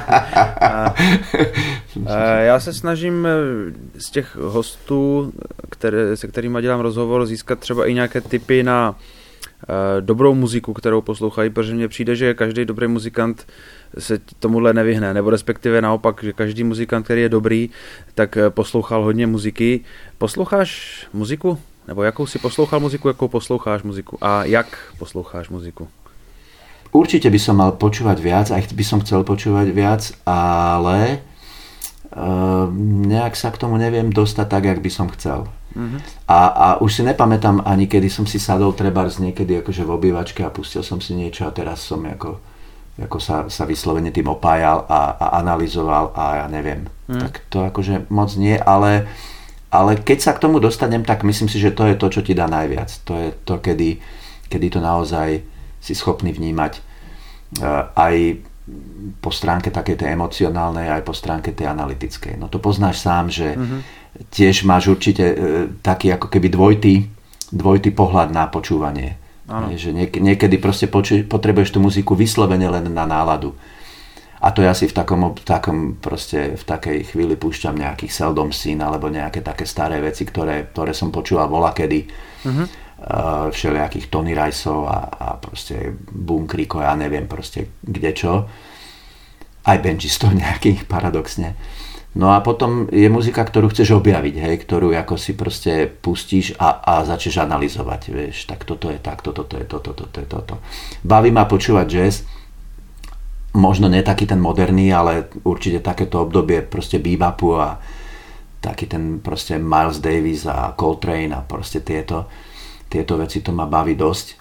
a já se snažím z těch hostů, které, se kterými dělám rozhovor, získat třeba i nějaké tipy na dobrou muziku, kterou poslouchají, protože mně přijde, že každý dobrý muzikant se tomuhle nevyhne, nebo respektive naopak, že každý muzikant, který je dobrý, tak poslouchal hodně muziky. Posloucháš muziku? Nebo jakou si poslouchal muziku, jakou posloucháš muziku? A jak posloucháš muziku?
Určite by som mal počúvať viac, aj by som chcel počúvať viac, ale uh, nejak sa k tomu neviem dostať tak, jak by som chcel. Uh-huh. A, a už si nepamätám ani, kedy som si sadol trebárs niekedy akože v obývačke a pustil som si niečo a teraz som ako, ako sa, sa vyslovene tým opájal a, a analyzoval a ja neviem. Uh-huh. Tak to akože moc nie, ale, ale keď sa k tomu dostanem, tak myslím si, že to je to, čo ti dá najviac. To je to, kedy, kedy to naozaj si schopný vnímať uh, aj po stránke takej tej emocionálnej, aj po stránke tej analytickej. No to poznáš sám, že uh-huh. tiež máš určite e, taký ako keby dvojitý, dvojitý pohľad na počúvanie. Je, že niek- niekedy proste poču- potrebuješ tú muziku vyslovene len na náladu. A to ja si v takom, v takom proste v takej chvíli púšťam nejakých Seldom Scene alebo nejaké také staré veci, ktoré, ktoré som počúval volakedy. Uh-huh. Uh, všelijakých Tony Riceov a, a proste Boom Creeko, ja neviem proste kde čo. Aj benchistov nejakých paradoxne. No a potom je muzika, ktorú chceš objaviť, hej, ktorú ako si proste pustíš a, a začneš analyzovať, vieš, tak toto je takto, toto je toto, toto je toto. Baví ma počúvať jazz, možno nie taký ten moderný, ale určite takéto obdobie proste bebopu a taký ten proste Miles Davis a Coltrane a proste tieto tieto veci, to ma baví dosť.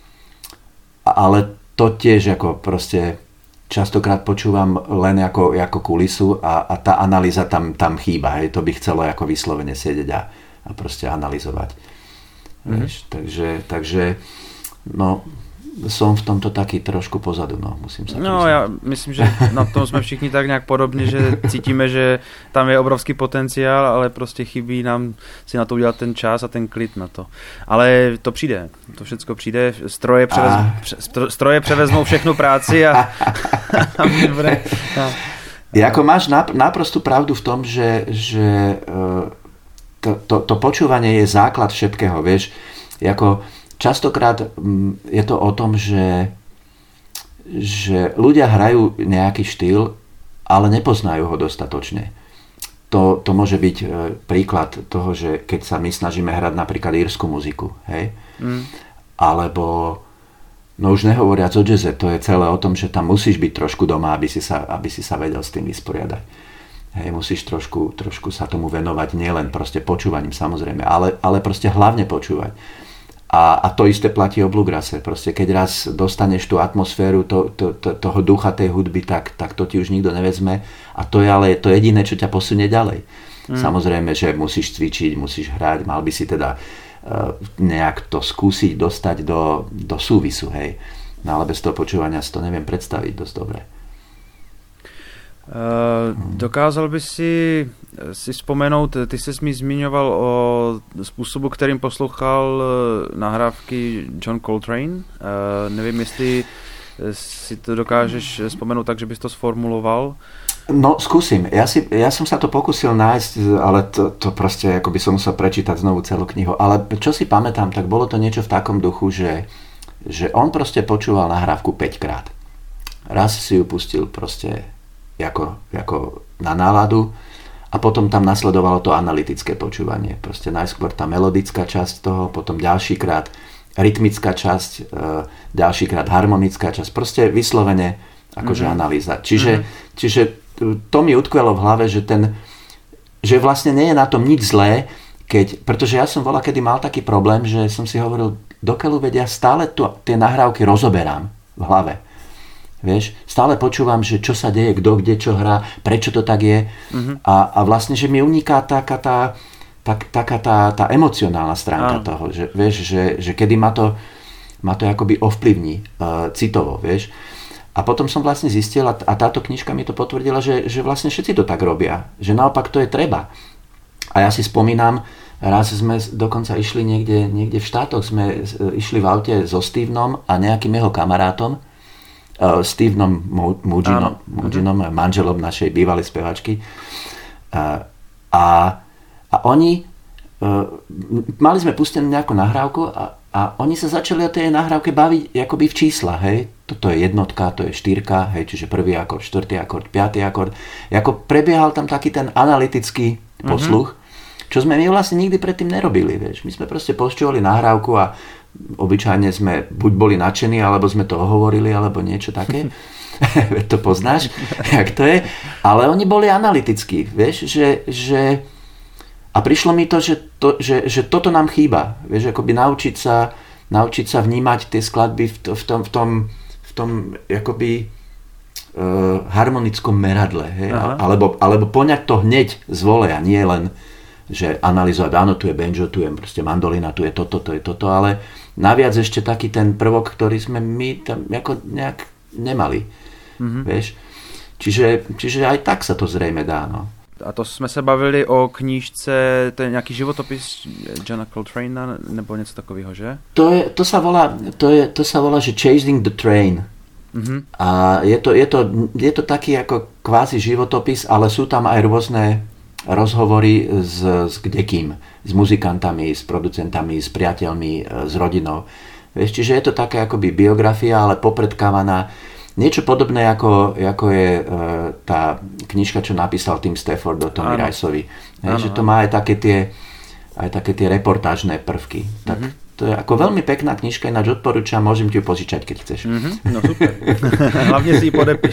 Ale to tiež ako proste častokrát počúvam len ako, ako kulisu a, a tá analýza tam, tam chýba. Hej. To by chcelo ako vyslovene sedieť a, a proste analyzovať. Mm-hmm. Vieš, takže, takže no, som v tomto taký trošku pozadu, no, musím sa
No, já myslím, že na tom jsme všichni tak nějak podobně, že cítíme, že tam je obrovský potenciál, ale prostě chybí nám si na to udělat ten čas a ten klid na to. Ale to přijde, to všecko přijde, stroje, převez, a... stroje převezmou všechnu práci a, a bude... No.
Jako máš náprostú pravdu v tom, že, že to, to, to počúvanie je základ všetkého, vieš, jako častokrát je to o tom, že, že ľudia hrajú nejaký štýl, ale nepoznajú ho dostatočne. To, to môže byť príklad toho, že keď sa my snažíme hrať napríklad írsku muziku, hej? Mm. Alebo, no už nehovoriac o jazze, to je celé o tom, že tam musíš byť trošku doma, aby si sa, aby si sa vedel s tým vysporiadať. Hej, musíš trošku, trošku sa tomu venovať, nielen proste počúvaním samozrejme, ale, ale proste hlavne počúvať. A, a to isté platí o bluegrase. Proste keď raz dostaneš tú atmosféru to, to, to, toho ducha tej hudby, tak, tak to ti už nikto nevezme. A to je ale to jediné, čo ťa posunie ďalej. Mm. Samozrejme, že musíš cvičiť, musíš hrať, mal by si teda uh, nejak to skúsiť dostať do, do súvisu, hej. No ale bez toho počúvania si to neviem predstaviť dosť dobre.
Uh, dokázal by si si vzpomenout, ty jsi mi zmiňoval o způsobu, kterým poslouchal nahrávky John Coltrane. Uh, nevím, jestli si to dokážeš vzpomenout tak, že bys to sformuloval.
No, skúsim. Ja, si, ja som sa to pokusil nájsť, ale to, to proste, ako by som musel prečítať znovu celú knihu. Ale čo si pamätám, tak bolo to niečo v takom duchu, že, že on proste počúval nahrávku päťkrát. Raz si ju pustil proste ako, ako na náladu a potom tam nasledovalo to analytické počúvanie. Proste najskôr tá melodická časť toho, potom ďalšíkrát rytmická časť, ďalšíkrát harmonická časť. Proste vyslovene akože mm-hmm. analýza. Čiže, mm-hmm. čiže to mi utkvelo v hlave, že ten, že vlastne nie je na tom nič zlé, keď, pretože ja som bola, kedy mal taký problém, že som si hovoril, dokeľu vedia, stále tu, tie nahrávky rozoberám v hlave. Vieš, stále počúvam, že čo sa deje, kto kde čo hrá, prečo to tak je. Mm-hmm. A, a vlastne, že mi uniká taká tá, tak, taká tá, tá emocionálna stránka ah. toho, že, vieš, že, že kedy ma to, ma to akoby ovplyvní uh, citovo, vieš. A potom som vlastne zistil, a táto knižka mi to potvrdila, že, že vlastne všetci to tak robia. Že naopak to je treba. A ja si spomínam, raz sme dokonca išli niekde, niekde v štátoch, sme išli v aute so Stevenom a nejakým jeho kamarátom, uh, Stevenom Muginom, Muginom, manželom našej bývalej spevačky. Uh, a, a oni, uh, mali sme pustenú nejakú nahrávku a, a oni sa začali o tej nahrávke baviť akoby v číslach, hej. Toto je jednotka, to je štyrka, hej, čiže prvý akord, štvrtý akord, piatý akord. Jako prebiehal tam taký ten analytický posluch, mm-hmm. čo sme my vlastne nikdy predtým nerobili, vieš. My sme proste počúvali nahrávku a obyčajne sme buď boli nadšení, alebo sme to hovorili, alebo niečo také. To poznáš, jak to je. Ale oni boli analytickí, vieš, že, že a prišlo mi to, že, to že, že toto nám chýba, vieš, akoby naučiť sa, naučiť sa vnímať tie skladby v, to, v tom, v tom v tom jakoby uh, harmonickom meradle, hej? Alebo, alebo poňať to hneď z voleja, nie len, že analyzovať, áno, tu je banjo, tu je proste mandolina, tu je toto, to je toto, ale naviac ešte taký ten prvok, ktorý sme my tam ako nejak nemali, mm-hmm. vieš. Čiže, čiže aj tak sa to zrejme dá, no.
A to jsme se bavili o knížce, to je nějaký životopis Johna Coltrana nebo něco takového, že?
To, je, to, sa volá, to, je, to sa volá, že Chasing the Train. Mm-hmm. A je to, je, to, je to taký ako kvázi životopis, ale sú tam aj rôzne rozhovory s, s kdekým, s muzikantami, s producentami, s priateľmi, s rodinou. Vieš, čiže je to také akoby biografia, ale popredkávaná. Niečo podobné, ako, ako je e, tá knižka, čo napísal Tim Stafford o Tommy Riceovi. Že to má aj také tie, aj také tie reportážne prvky. Tak mm-hmm. to je ako veľmi pekná knižka, ináč odporúčam, môžem ti ju požičať, keď chceš.
Mm-hmm. No super. Hlavne si ji podepiš.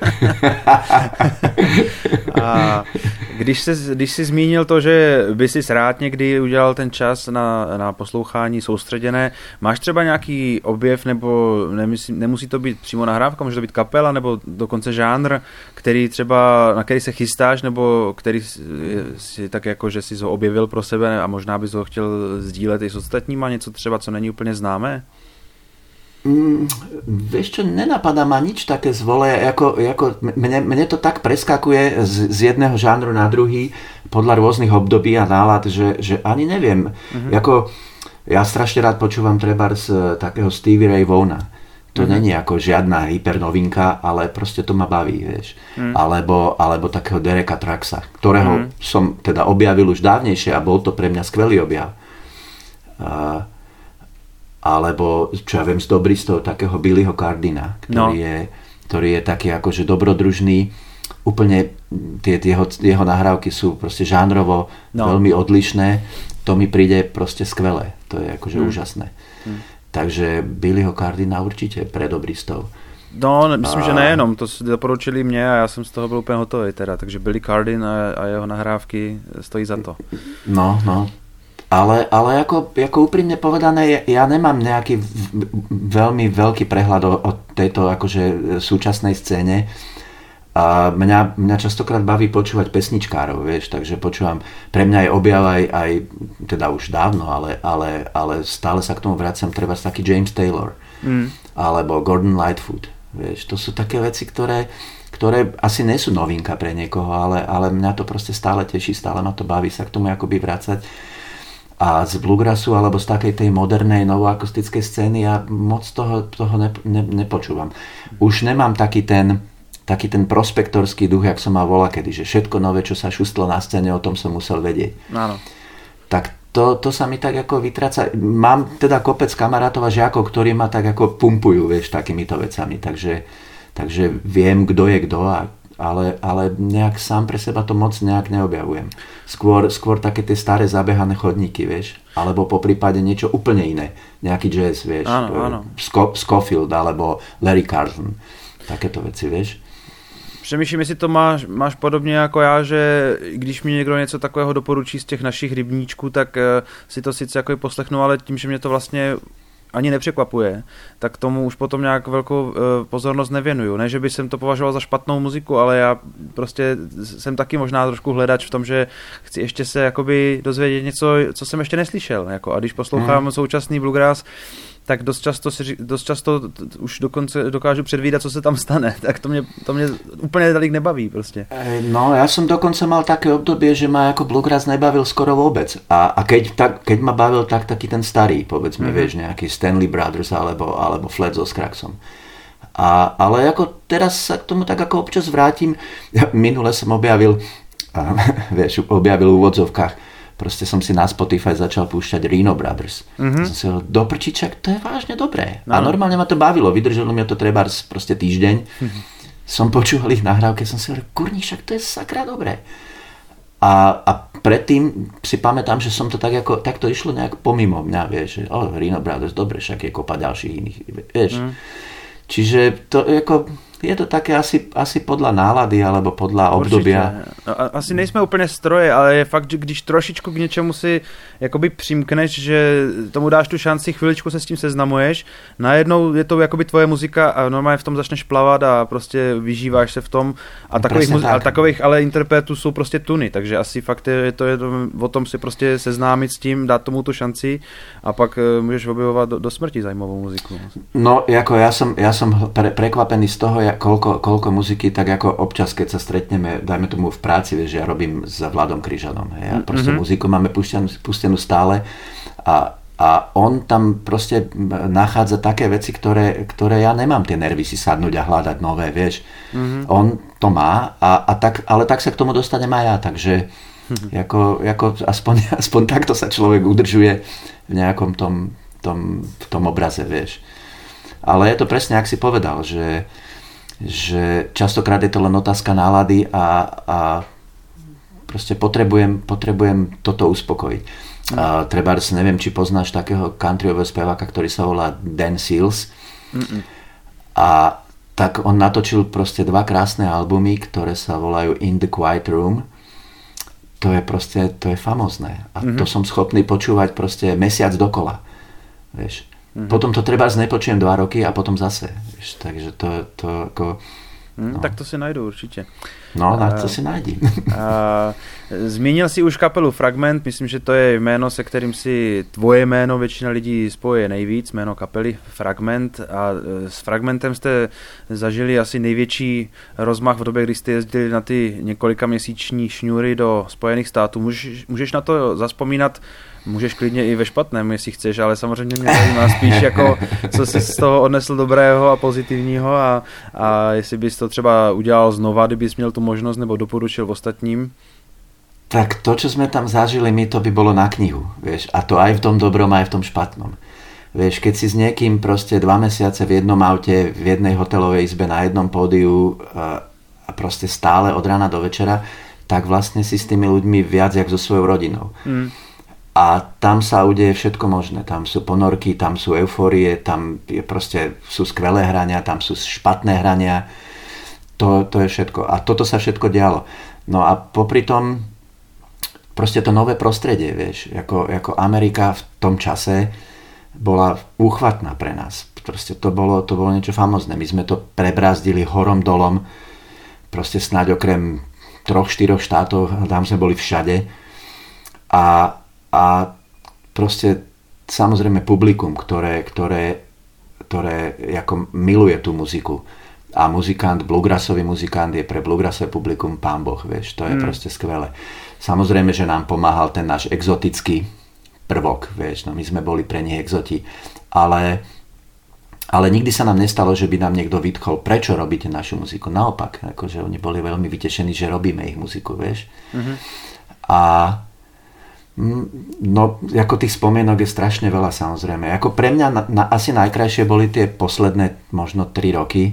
A když jsi, když jsi zmínil to, že by si rád někdy udělal ten čas na, na poslouchání soustředěné, máš třeba nějaký objev, nebo nemusí, nemusí to být přímo nahrávka, může to být kapela, nebo dokonce žánr, který třeba, na který se chystáš, nebo který si tak jako, že jsi ho objevil pro sebe a možná bys ho chtěl sdílet i s ostatníma, něco třeba, co není úplně známé?
Mm, vieš čo, nenapadá ma nič také zvole, ako, ako mne, mne to tak preskakuje z, z jedného žánru na druhý podľa rôznych období a nálad, že, že ani neviem. Mm-hmm. Jako, ja strašne rád počúvam treba z takého Stevie Ray Vaughna. To mm-hmm. není ako žiadna hypernovinka, ale proste to ma baví, vieš. Mm. Alebo, alebo takého Dereka Trucksa, ktorého mm. som teda objavil už dávnejšie a bol to pre mňa skvelý objav. A alebo, čo ja viem, z dobristov takého Billyho Cardina, ktorý, no. je, ktorý je taký akože dobrodružný. Úplne tie, tie jeho, jeho nahrávky sú proste žánrovo no. veľmi odlišné. To mi príde proste skvelé. To je akože hmm. úžasné. Hmm. Takže Billyho Cardina určite pre dobristov.
No, myslím, a... že nejenom. To si doporučili mě a já jsem z toho byl úplně hotový teda. Takže Billy Cardin a, a jeho nahrávky stojí za to.
No, no. Ale, ale ako, ako úprimne povedané, ja nemám nejaký veľmi veľký prehľad o, o tejto akože súčasnej scéne A mňa, mňa častokrát baví počúvať pesničkárov, vieš, takže počúvam, pre mňa je objav aj, aj teda už dávno, ale, ale, ale stále sa k tomu vraciam, treba taký James Taylor, mm. alebo Gordon Lightfoot, vieš, to sú také veci, ktoré, ktoré asi nie sú novinka pre niekoho, ale, ale mňa to proste stále teší, stále ma to baví sa k tomu akoby vracať. A z bluegrassu alebo z takej tej modernej novoakustickej scény ja moc toho, toho ne, ne, nepočúvam. Už nemám taký ten taký ten prospektorský duch, jak som mal volakedy, že všetko nové, čo sa šustlo na scéne, o tom som musel vedieť.
Áno.
Tak to, to sa mi tak ako vytráca. Mám teda kopec kamarátov a žiakov, ktorí ma tak ako pumpujú, vieš, takýmito vecami. Takže, takže viem, kto je kto, a, ale, ale nejak sám pre seba to moc nejak neobjavujem. Skôr, skôr také tie staré zabehané chodníky, vieš. Alebo po prípade niečo úplne iné. Nejaký jazz, vieš.
Áno, áno.
Sco- Scofield alebo Larry Carlton. Takéto veci, vieš.
Přemýšlím, jestli to máš, máš podobně jako já, že když mi někdo něco takového doporučí z těch našich rybníčků, tak uh, si to sice jako poslechnu, ale tím, že mě to vlastně ani nepřekvapuje, tak tomu už potom nějak velkou uh, pozornost nevěnuju. Ne, že by jsem to považoval za špatnou muziku, ale já prostě jsem taky možná trošku hledač v tom, že chci ještě se jakoby dozvědět něco, co jsem ještě neslyšel. Jako, a když poslouchám hmm. současný bluegrass, tak dost často, si, dost často už dokonce dokážu předvídat, co se tam stane. Tak to mě, to mě úplně tolik nebaví prostě.
No, ja som dokonca mal také obdobie, že ma ako bluegrass nebavil skoro vôbec. A, a keď, tak, keď ma bavil, tak taký ten starý, povedzme, mm-hmm. vieš, nejaký Stanley Brothers alebo, alebo Flat so Scraxom. A, ale ako teraz sa k tomu tak ako občas vrátim. Minule som objavil, vieš, objavil v úvodzovkách, proste som si na Spotify začal púšťať Reno Brothers. Mm-hmm. Som si hovoril, do prčiček, to je vážne dobré. No. A normálne ma to bavilo, vydržalo mi to trebárs proste týždeň. Mm-hmm. Som počúval ich nahrávke, som si hovoril, kurník, však to je sakra dobré. A, a predtým si pamätám, že som to tak ako, tak to išlo nejak pomimo mňa, vieš, že oh, Reno Brothers, dobre, však je kopa ďalších iných, vieš. Mm. Čiže to ako, je to také asi, asi podľa nálady alebo podľa obdobia.
No, asi nejsme úplně stroje, ale je fakt, že když trošičku k něčemu si jakoby přimkneš, že tomu dáš tu šanci, chviličku se s tím seznamuješ, najednou je to jakoby tvoje muzika a normálně v tom začneš plavat a prostě vyžíváš se v tom. A takových, muzi- tak. a takových ale interpretů jsou prostě tuny, takže asi fakt je to, je to o tom si prostě seznámit s tím, dát tomu tu šanci a pak můžeš objevovat do, do smrti zajímavou muziku.
No, jako ja som, ja som pre, prekvapený z toho, jak, koľko, koľko muziky, tak ako občas, keď sa stretneme, dajme tomu v práci, vieš, že ja robím s Vladom Kryžanom. Hej, a proste mm-hmm. muziku máme pustenú, pustenú stále a, a on tam proste nachádza také veci, ktoré, ktoré ja nemám tie nervy si sadnúť a hľadať nové, vieš. Mm-hmm. On to má, a, a tak, ale tak sa k tomu dostanem aj ja, takže mm-hmm. ako, ako aspoň, aspoň takto sa človek udržuje v nejakom tom, tom, v tom obraze, vieš. Ale je to presne, ak si povedal, že, že častokrát je to len otázka nálady a, a proste potrebujem, potrebujem toto uspokojiť. Mm. A trebárs, neviem, či poznáš takého countryového speváka, ktorý sa volá Dan Seals. Mm-mm. A tak on natočil proste dva krásne albumy, ktoré sa volajú In the Quiet Room. To je proste, to je famózne. A mm-hmm. to som schopný počúvať proste mesiac dokola. Vieš. Mm-hmm. Potom to trebárs nepočujem dva roky a potom zase. Víš, takže to, to ako...
No. Tak to si najdu určitě.
No, na to si najdi.
Zmínil si už kapelu Fragment, myslím, že to je jméno, se kterým si tvoje jméno většina lidí spoje nejvíc, jméno kapely Fragment, a s Fragmentem jste zažili asi největší rozmach v době, kdy jste jezdili na ty několika měsíční šňůry do Spojených států. Můžeš, můžeš na to zazpomínat? Můžeš klidně i ve špatném, jestli chceš, ale samozřejmě mě zajímá spíš jako, co jsi z toho odnesl dobrého a pozitivního a, a jestli bys to třeba udělal znova, kdybys měl tu možnost, nebo doporučil ostatním.
Tak to, čo sme tam zažili my, to by bolo na knihu, vieš, a to aj v tom dobrom, aj v tom špatnom. Vieš, keď si s niekým proste dva mesiace v jednom aute, v jednej hotelovej izbe, na jednom pódiu a proste stále od rána do večera, tak vlastne si s tými ľuďmi viac jak so svojou rodinou. Mm. A tam sa udeje všetko možné. Tam sú ponorky, tam sú eufórie, tam je proste, sú skvelé hrania, tam sú špatné hrania. To, to je všetko. A toto sa všetko dialo. No a popri tom proste to nové prostredie, vieš, ako, ako Amerika v tom čase bola úchvatná pre nás. Proste to bolo, to bolo niečo famózne. My sme to prebrázdili horom dolom. proste snáď okrem troch, štyroch štátov, tam sme boli všade. A, a proste samozrejme publikum, ktoré, ktoré, ktoré ako miluje tú muziku. A muzikant, bluegrassový muzikant je pre bluegrassové publikum pán Boh, vieš, to je mm. proste skvelé. Samozrejme, že nám pomáhal ten náš exotický prvok, vieš, no my sme boli pre nich exoti, ale, ale nikdy sa nám nestalo, že by nám niekto vytkol, prečo robíte našu muziku. Naopak, akože oni boli veľmi vytešení, že robíme ich muziku, vieš. Mm-hmm. A no, ako tých spomienok je strašne veľa, samozrejme. Ako pre mňa na, na, asi najkrajšie boli tie posledné možno tri roky,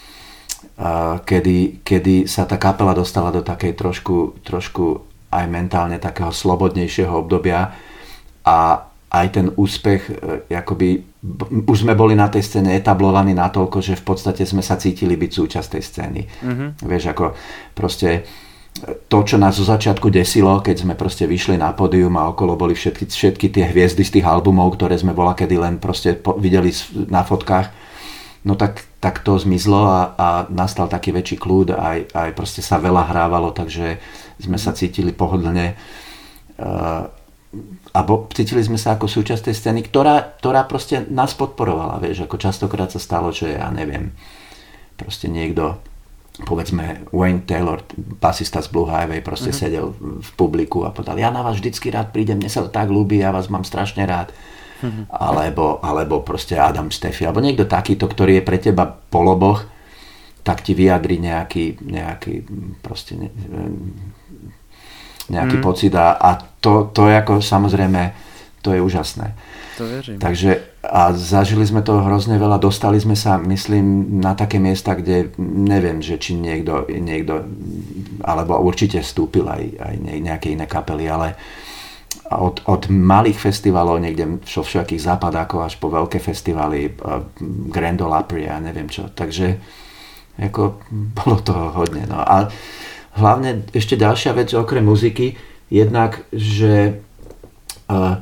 uh, kedy, kedy sa tá kapela dostala do takej trošku, trošku aj mentálne takého slobodnejšieho obdobia a aj ten úspech, uh, akoby, už sme boli na tej scéne etablovaní natoľko, že v podstate sme sa cítili byť súčasť tej scény. Mm-hmm. Vieš, ako proste to, čo nás zo začiatku desilo, keď sme proste vyšli na pódium a okolo boli všetky, všetky tie hviezdy z tých albumov, ktoré sme volakedy len proste po, videli na fotkách, no tak, tak to zmizlo a, a nastal taký väčší kľud, aj, aj proste sa veľa hrávalo, takže sme sa cítili pohodlne uh, a bo, cítili sme sa ako súčasť tej scény, ktorá, ktorá proste nás podporovala, vieš, ako častokrát sa stalo, že ja neviem, proste niekto, povedzme Wayne Taylor, basista z Blue Highway, proste uh-huh. sedel v publiku a povedal, ja na vás vždycky rád prídem, mne sa to tak ľúbi, ja vás mám strašne rád. Uh-huh. Alebo, alebo proste Adam Steffi, alebo niekto takýto, ktorý je pre teba poloboch, tak ti vyjadri nejaký, nejaký proste ne, nejaký uh-huh. pocit a, a to, to je ako samozrejme, to je úžasné.
To verím.
Takže a zažili sme toho hrozne veľa, dostali sme sa, myslím, na také miesta, kde neviem, že či niekto, niekto alebo určite vstúpil aj, aj nejaké iné kapely, ale od, od malých festivalov niekde vo všakých západákov až po veľké festivaly, Grand Ole Opry a neviem čo. Takže ako, bolo toho hodne. No. A hlavne ešte ďalšia vec okrem muziky, jednak, že uh,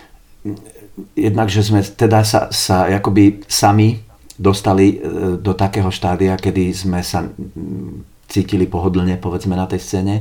jednak, že sme teda sa, sa akoby sami dostali do takého štádia, kedy sme sa cítili pohodlne, povedzme, na tej scéne.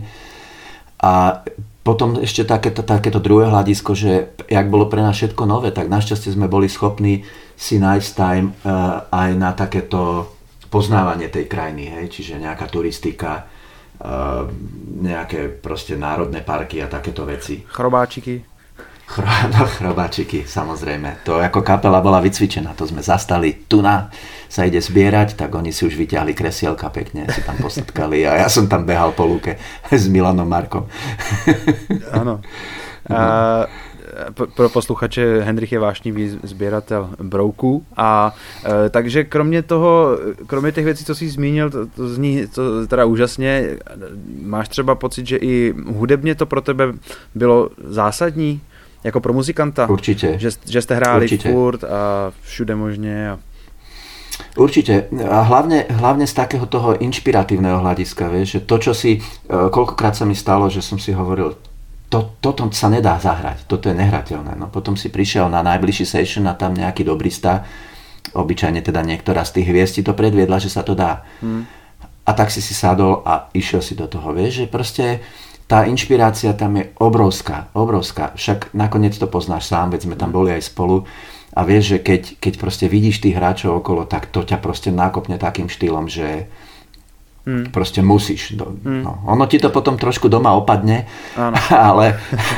A potom ešte takéto, takéto druhé hľadisko, že jak bolo pre nás všetko nové, tak našťastie sme boli schopní si nájsť time uh, aj na takéto poznávanie tej krajiny, hej? Čiže nejaká turistika, uh, nejaké proste národné parky a takéto veci.
Chrobáčiky.
No, chrobáčiky, samozrejme. To ako kapela bola vycvičená, to sme zastali. Tu na sa ide zbierať, tak oni si už vyťahli kresielka pekne, si tam posetkali a ja som tam behal po lúke s Milanom Markom.
Áno. A pro posluchače, Hendrich je vášnivý sběratel brouků a e, takže kromě toho, kromě těch věcí, co jsi zmínil, to, to zní to teda úžasně, máš třeba pocit, že i hudebně to pro tebe bylo zásadní? Jako pro muzikanta?
Určite.
Že, že ste hráli
Určite.
furt a všude možne? A...
Určite. A hlavne, hlavne z takého toho inšpiratívneho hľadiska, vieš, že to, čo si, koľkokrát sa mi stalo, že som si hovoril, to, toto sa nedá zahrať, toto je nehrateľné. No, potom si prišiel na najbližší session a tam nejaký dobrista, obyčajne teda niektorá z tých hviezd ti to predviedla, že sa to dá. Hmm. A tak si si sadol a išiel si do toho, vieš, že proste tá inšpirácia tam je obrovská, obrovská. Však nakoniec to poznáš sám, veď sme tam boli aj spolu a vieš, že keď, keď proste vidíš tých hráčov okolo, tak to ťa proste nákopne takým štýlom, že hmm. proste musíš. Hmm. No, ono ti to potom trošku doma opadne, ano. ale...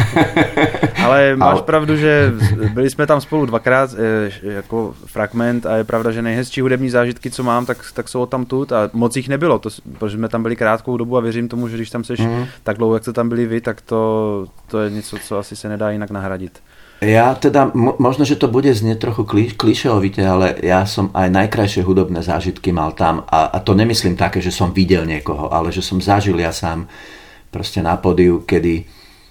ale máš ale... pravdu, že byli jsme tam spolu dvakrát jako fragment a je pravda, že nejhezčí hudební zážitky, co mám, tak, tak jsou tam tut a moc jich nebylo, to, protože jsme tam byli krátkou dobu a věřím tomu, že když tam seš hmm. tak dlouho, jak jste tam byli vy, tak to, to je něco, co asi se nedá jinak nahradit.
Ja teda, možno, že to bude znieť trochu klišeovite, ale ja som aj najkrajšie hudobné zážitky mal tam a, a to nemyslím také, že som videl niekoho, ale že som zažil ja sám proste na pódiu, kedy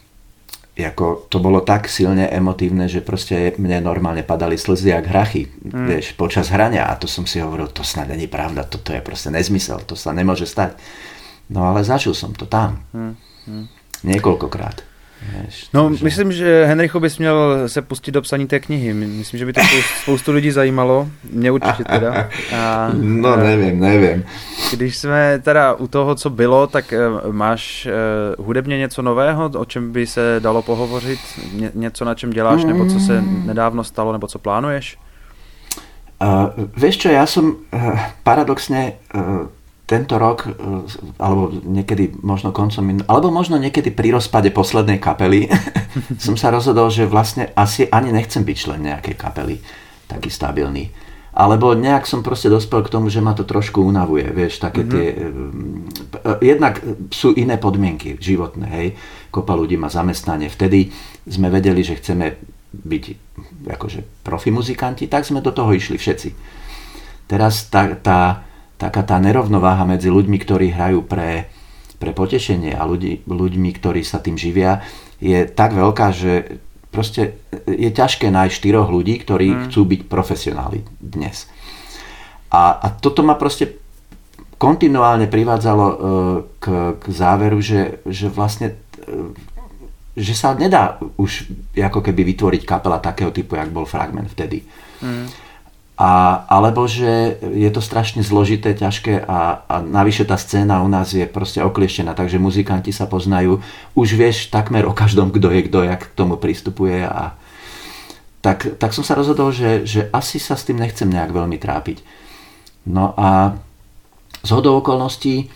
ako, to bolo tak silne emotívne, že proste mne normálne padali slzy jak hrachy, mm. vieš, počas hrania a to som si hovoril, to snad není pravda, toto je proste nezmysel, to sa nemôže stať. No ale zažil som to tam. Mm. Mm. Niekoľkokrát.
Víš, no, takže... myslím, že Henricho bys měl se pustit do psaní té knihy. Myslím, že by to spoustu, spoustu lidí zajímalo. Mě určitě teda. A,
no, nevím, nevím.
Když jsme teda u toho, co bylo, tak máš uh, hudebně něco nového, o čem by se dalo pohovořit? Ně, něco, na čem děláš, nebo co se nedávno stalo, nebo co plánuješ?
Uh, vieš čo, ja som uh, paradoxne uh, tento rok, uh, alebo niekedy možno koncom, alebo možno niekedy pri rozpade poslednej kapely som sa rozhodol, že vlastne asi ani nechcem byť člen nejakej kapely, taký stabilný. Alebo nejak som proste dospel k tomu, že ma to trošku unavuje, vieš, také mm-hmm. tie... Uh, jednak sú iné podmienky životné, hej, kopa ľudí má zamestnanie. Vtedy sme vedeli, že chceme byť akože profi muzikanti, tak sme do toho išli všetci. Teraz tá, tá, taká tá nerovnováha medzi ľuďmi, ktorí hrajú pre, pre potešenie a ľudí, ľuďmi, ktorí sa tým živia, je tak veľká, že proste je ťažké nájsť štyroch ľudí, ktorí mm. chcú byť profesionáli dnes. A, a toto ma proste kontinuálne privádzalo uh, k, k záveru, že, že vlastne uh, že sa nedá už ako keby vytvoriť kapela takého typu, jak bol Fragment vtedy. Mm. A, alebo že je to strašne zložité, ťažké a, a navyše tá scéna u nás je proste oklieštená, takže muzikanti sa poznajú. Už vieš takmer o každom, kto je kto, jak k tomu pristupuje. A tak, tak som sa rozhodol, že, že asi sa s tým nechcem nejak veľmi trápiť. No a zhodou okolností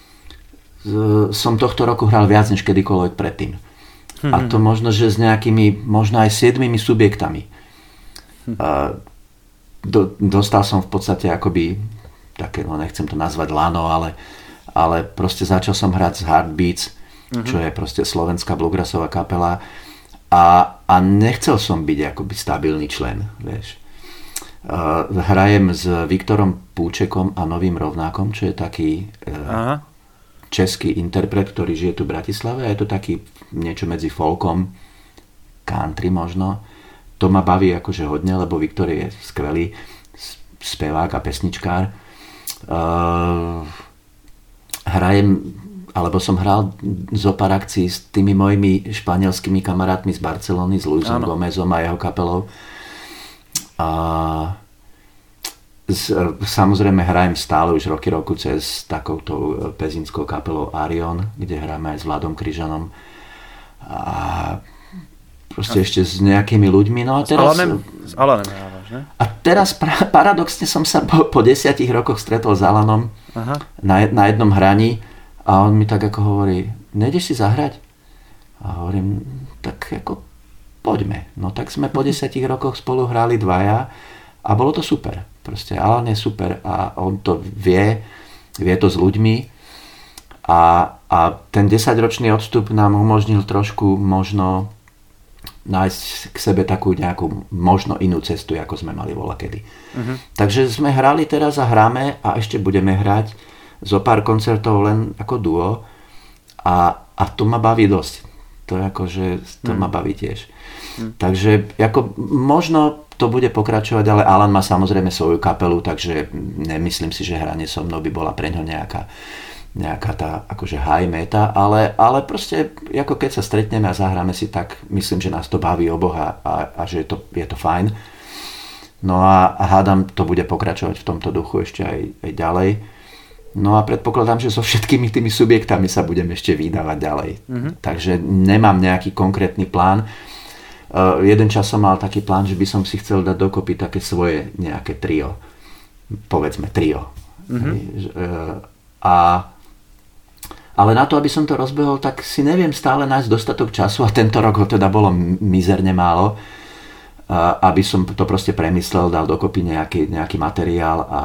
som tohto roku hral viac než kedykoľvek predtým. A to možno, že s nejakými, možno aj siedmimi subjektami. A do, dostal som v podstate akoby, také, no nechcem to nazvať lano, ale, ale proste začal som hrať z Heartbeats, uh-huh. čo je proste slovenská bluegrassová kapela a, a nechcel som byť akoby stabilný člen, vieš. A hrajem s Viktorom Púčekom a Novým Rovnákom, čo je taký... Aha. český interpret, ktorý žije tu v Bratislave a je to taký niečo medzi folkom, country možno. To ma baví akože hodne, lebo Viktor je skvelý spevák a pesničkár. Uh, hrajem, alebo som hral zo pár akcií s tými mojimi španielskými kamarátmi z Barcelony, s Luisom Gomezom a jeho kapelou. A samozrejme hrajem stále už roky roku cez takouto pezinskou kapelou Arion, kde hráme aj s Vladom Kryžanom a proste a ešte s nejakými ľuďmi. No a teraz,
s Alanem, s Alanem hrávaš, ne?
A teraz pra, paradoxne som sa po, po desiatich rokoch stretol s Alanom Aha. Na, na jednom hraní a on mi tak ako hovorí, nejdeš si zahrať? A hovorím, tak ako poďme. No tak sme po desiatich rokoch spolu hrali dvaja a bolo to super. Proste Alan je super a on to vie, vie to s ľuďmi a, a ten desaťročný odstup nám umožnil trošku možno nájsť k sebe takú nejakú možno inú cestu, ako sme mali voľakedy. Uh-huh. Takže sme hrali teraz a hráme a ešte budeme hrať zo pár koncertov len ako duo a, a to ma baví dosť. To je ako, že to uh-huh. ma baví tiež. Uh-huh. Takže ako možno to bude pokračovať, ale Alan má samozrejme svoju kapelu, takže nemyslím si, že hranie so mnou by bola pre ňo nejaká, nejaká tá akože high meta, ale, ale proste ako keď sa stretneme a zahráme si, tak myslím, že nás to baví oboha a, a že je to, je to fajn. No a, a hádam, to bude pokračovať v tomto duchu ešte aj, aj ďalej. No a predpokladám, že so všetkými tými subjektami sa budem ešte vydávať ďalej. Mm-hmm. Takže nemám nejaký konkrétny plán. Uh, jeden čas som mal taký plán, že by som si chcel dať dokopy také svoje nejaké trio. Povedzme trio. Mm-hmm. Uh, a, ale na to, aby som to rozbehol, tak si neviem stále nájsť dostatok času a tento rok ho teda bolo mizerne málo, uh, aby som to proste premyslel, dal dokopy nejaký, nejaký materiál a,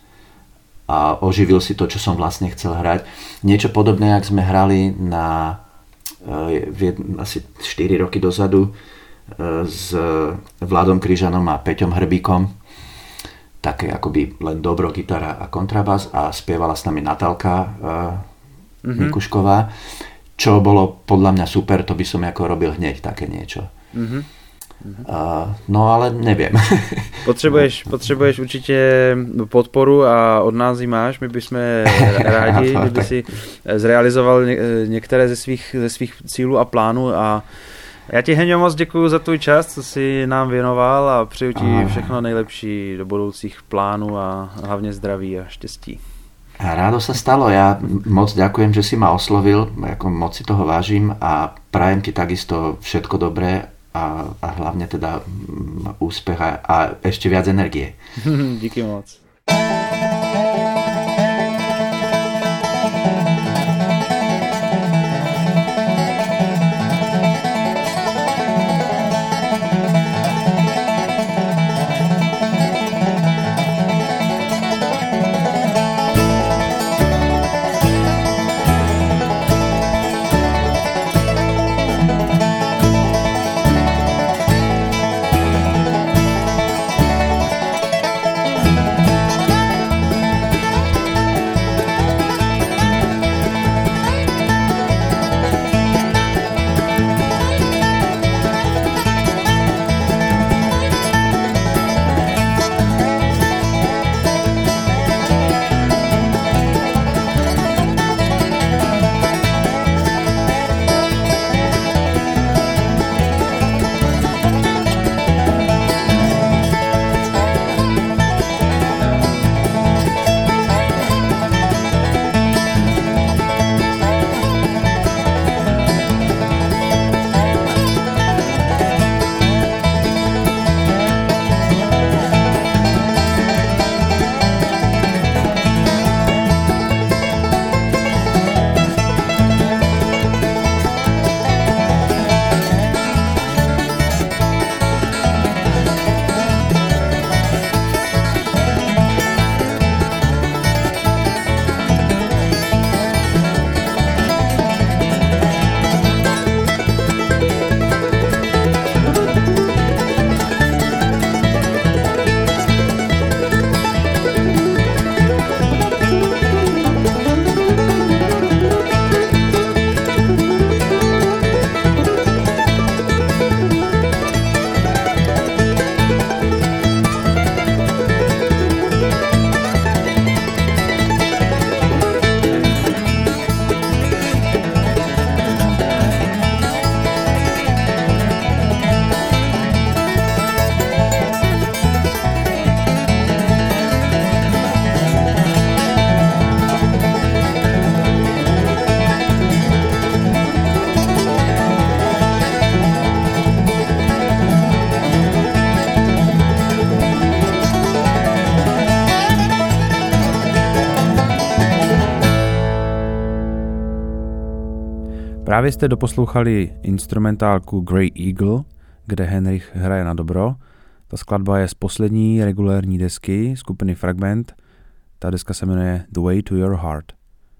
a oživil si to, čo som vlastne chcel hrať. Niečo podobné, jak sme hrali na uh, asi štyri roky dozadu s Vladom Kryžanom a Peťom Hrbíkom, také akoby len dobro, gitara a kontrabas a spievala s nami Natálka uh, mm-hmm. Mikušková, čo bolo podľa mňa super, to by som ako robil hneď také niečo. Mm-hmm. Uh, no ale nevím.
Potřebuješ, potřebuješ určitě podporu a od nás ji máš. My bychom rádi, kdyby si zrealizoval ně, některé ze svých, ze svých cílů a plánů. A já ti, Heňo, moc děkuju za tvůj čas, co jsi nám věnoval, a přeju ti všechno nejlepší do budoucích plánů a hlavně zdraví a štěstí.
Rádo sa stalo. Ja moc ďakujem, že si ma oslovil, ako moc si toho vážim a prajem ti takisto všetko dobré a, a hlavne teda úspech a, a ešte viac energie.
Díky moc.
Právě jste doposlouchali instrumentálku Grey Eagle, kde Henrich hraje na dobro. Ta skladba je z poslední regulérní desky skupiny Fragment. Ta deska se jmenuje The Way to Your Heart.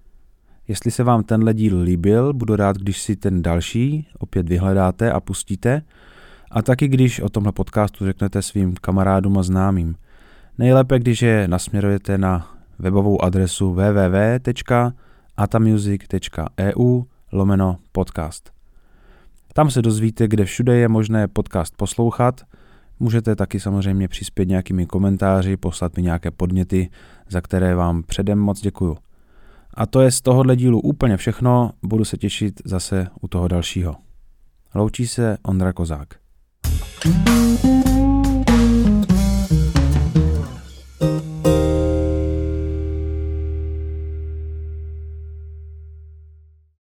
Jestli se vám tenhle díl líbil, budu rád, když si ten další opět vyhledáte a pustíte. A taky, když o tomhle podcastu řeknete svým kamarádům a známým. Nejlépe, když je nasměrujete na webovou adresu w w w tečka atamusic tečka e u lomeno podcast. Tam se dozvíte, kde všude je možné podcast poslouchat. Můžete taky samozřejmě přispět nějakými komentáři, poslat mi nějaké podněty, za které vám předem moc děkuju. A to je z tohohle dílu úplně všechno, budu se těšit zase u toho dalšího. Loučí se Ondra Kozák.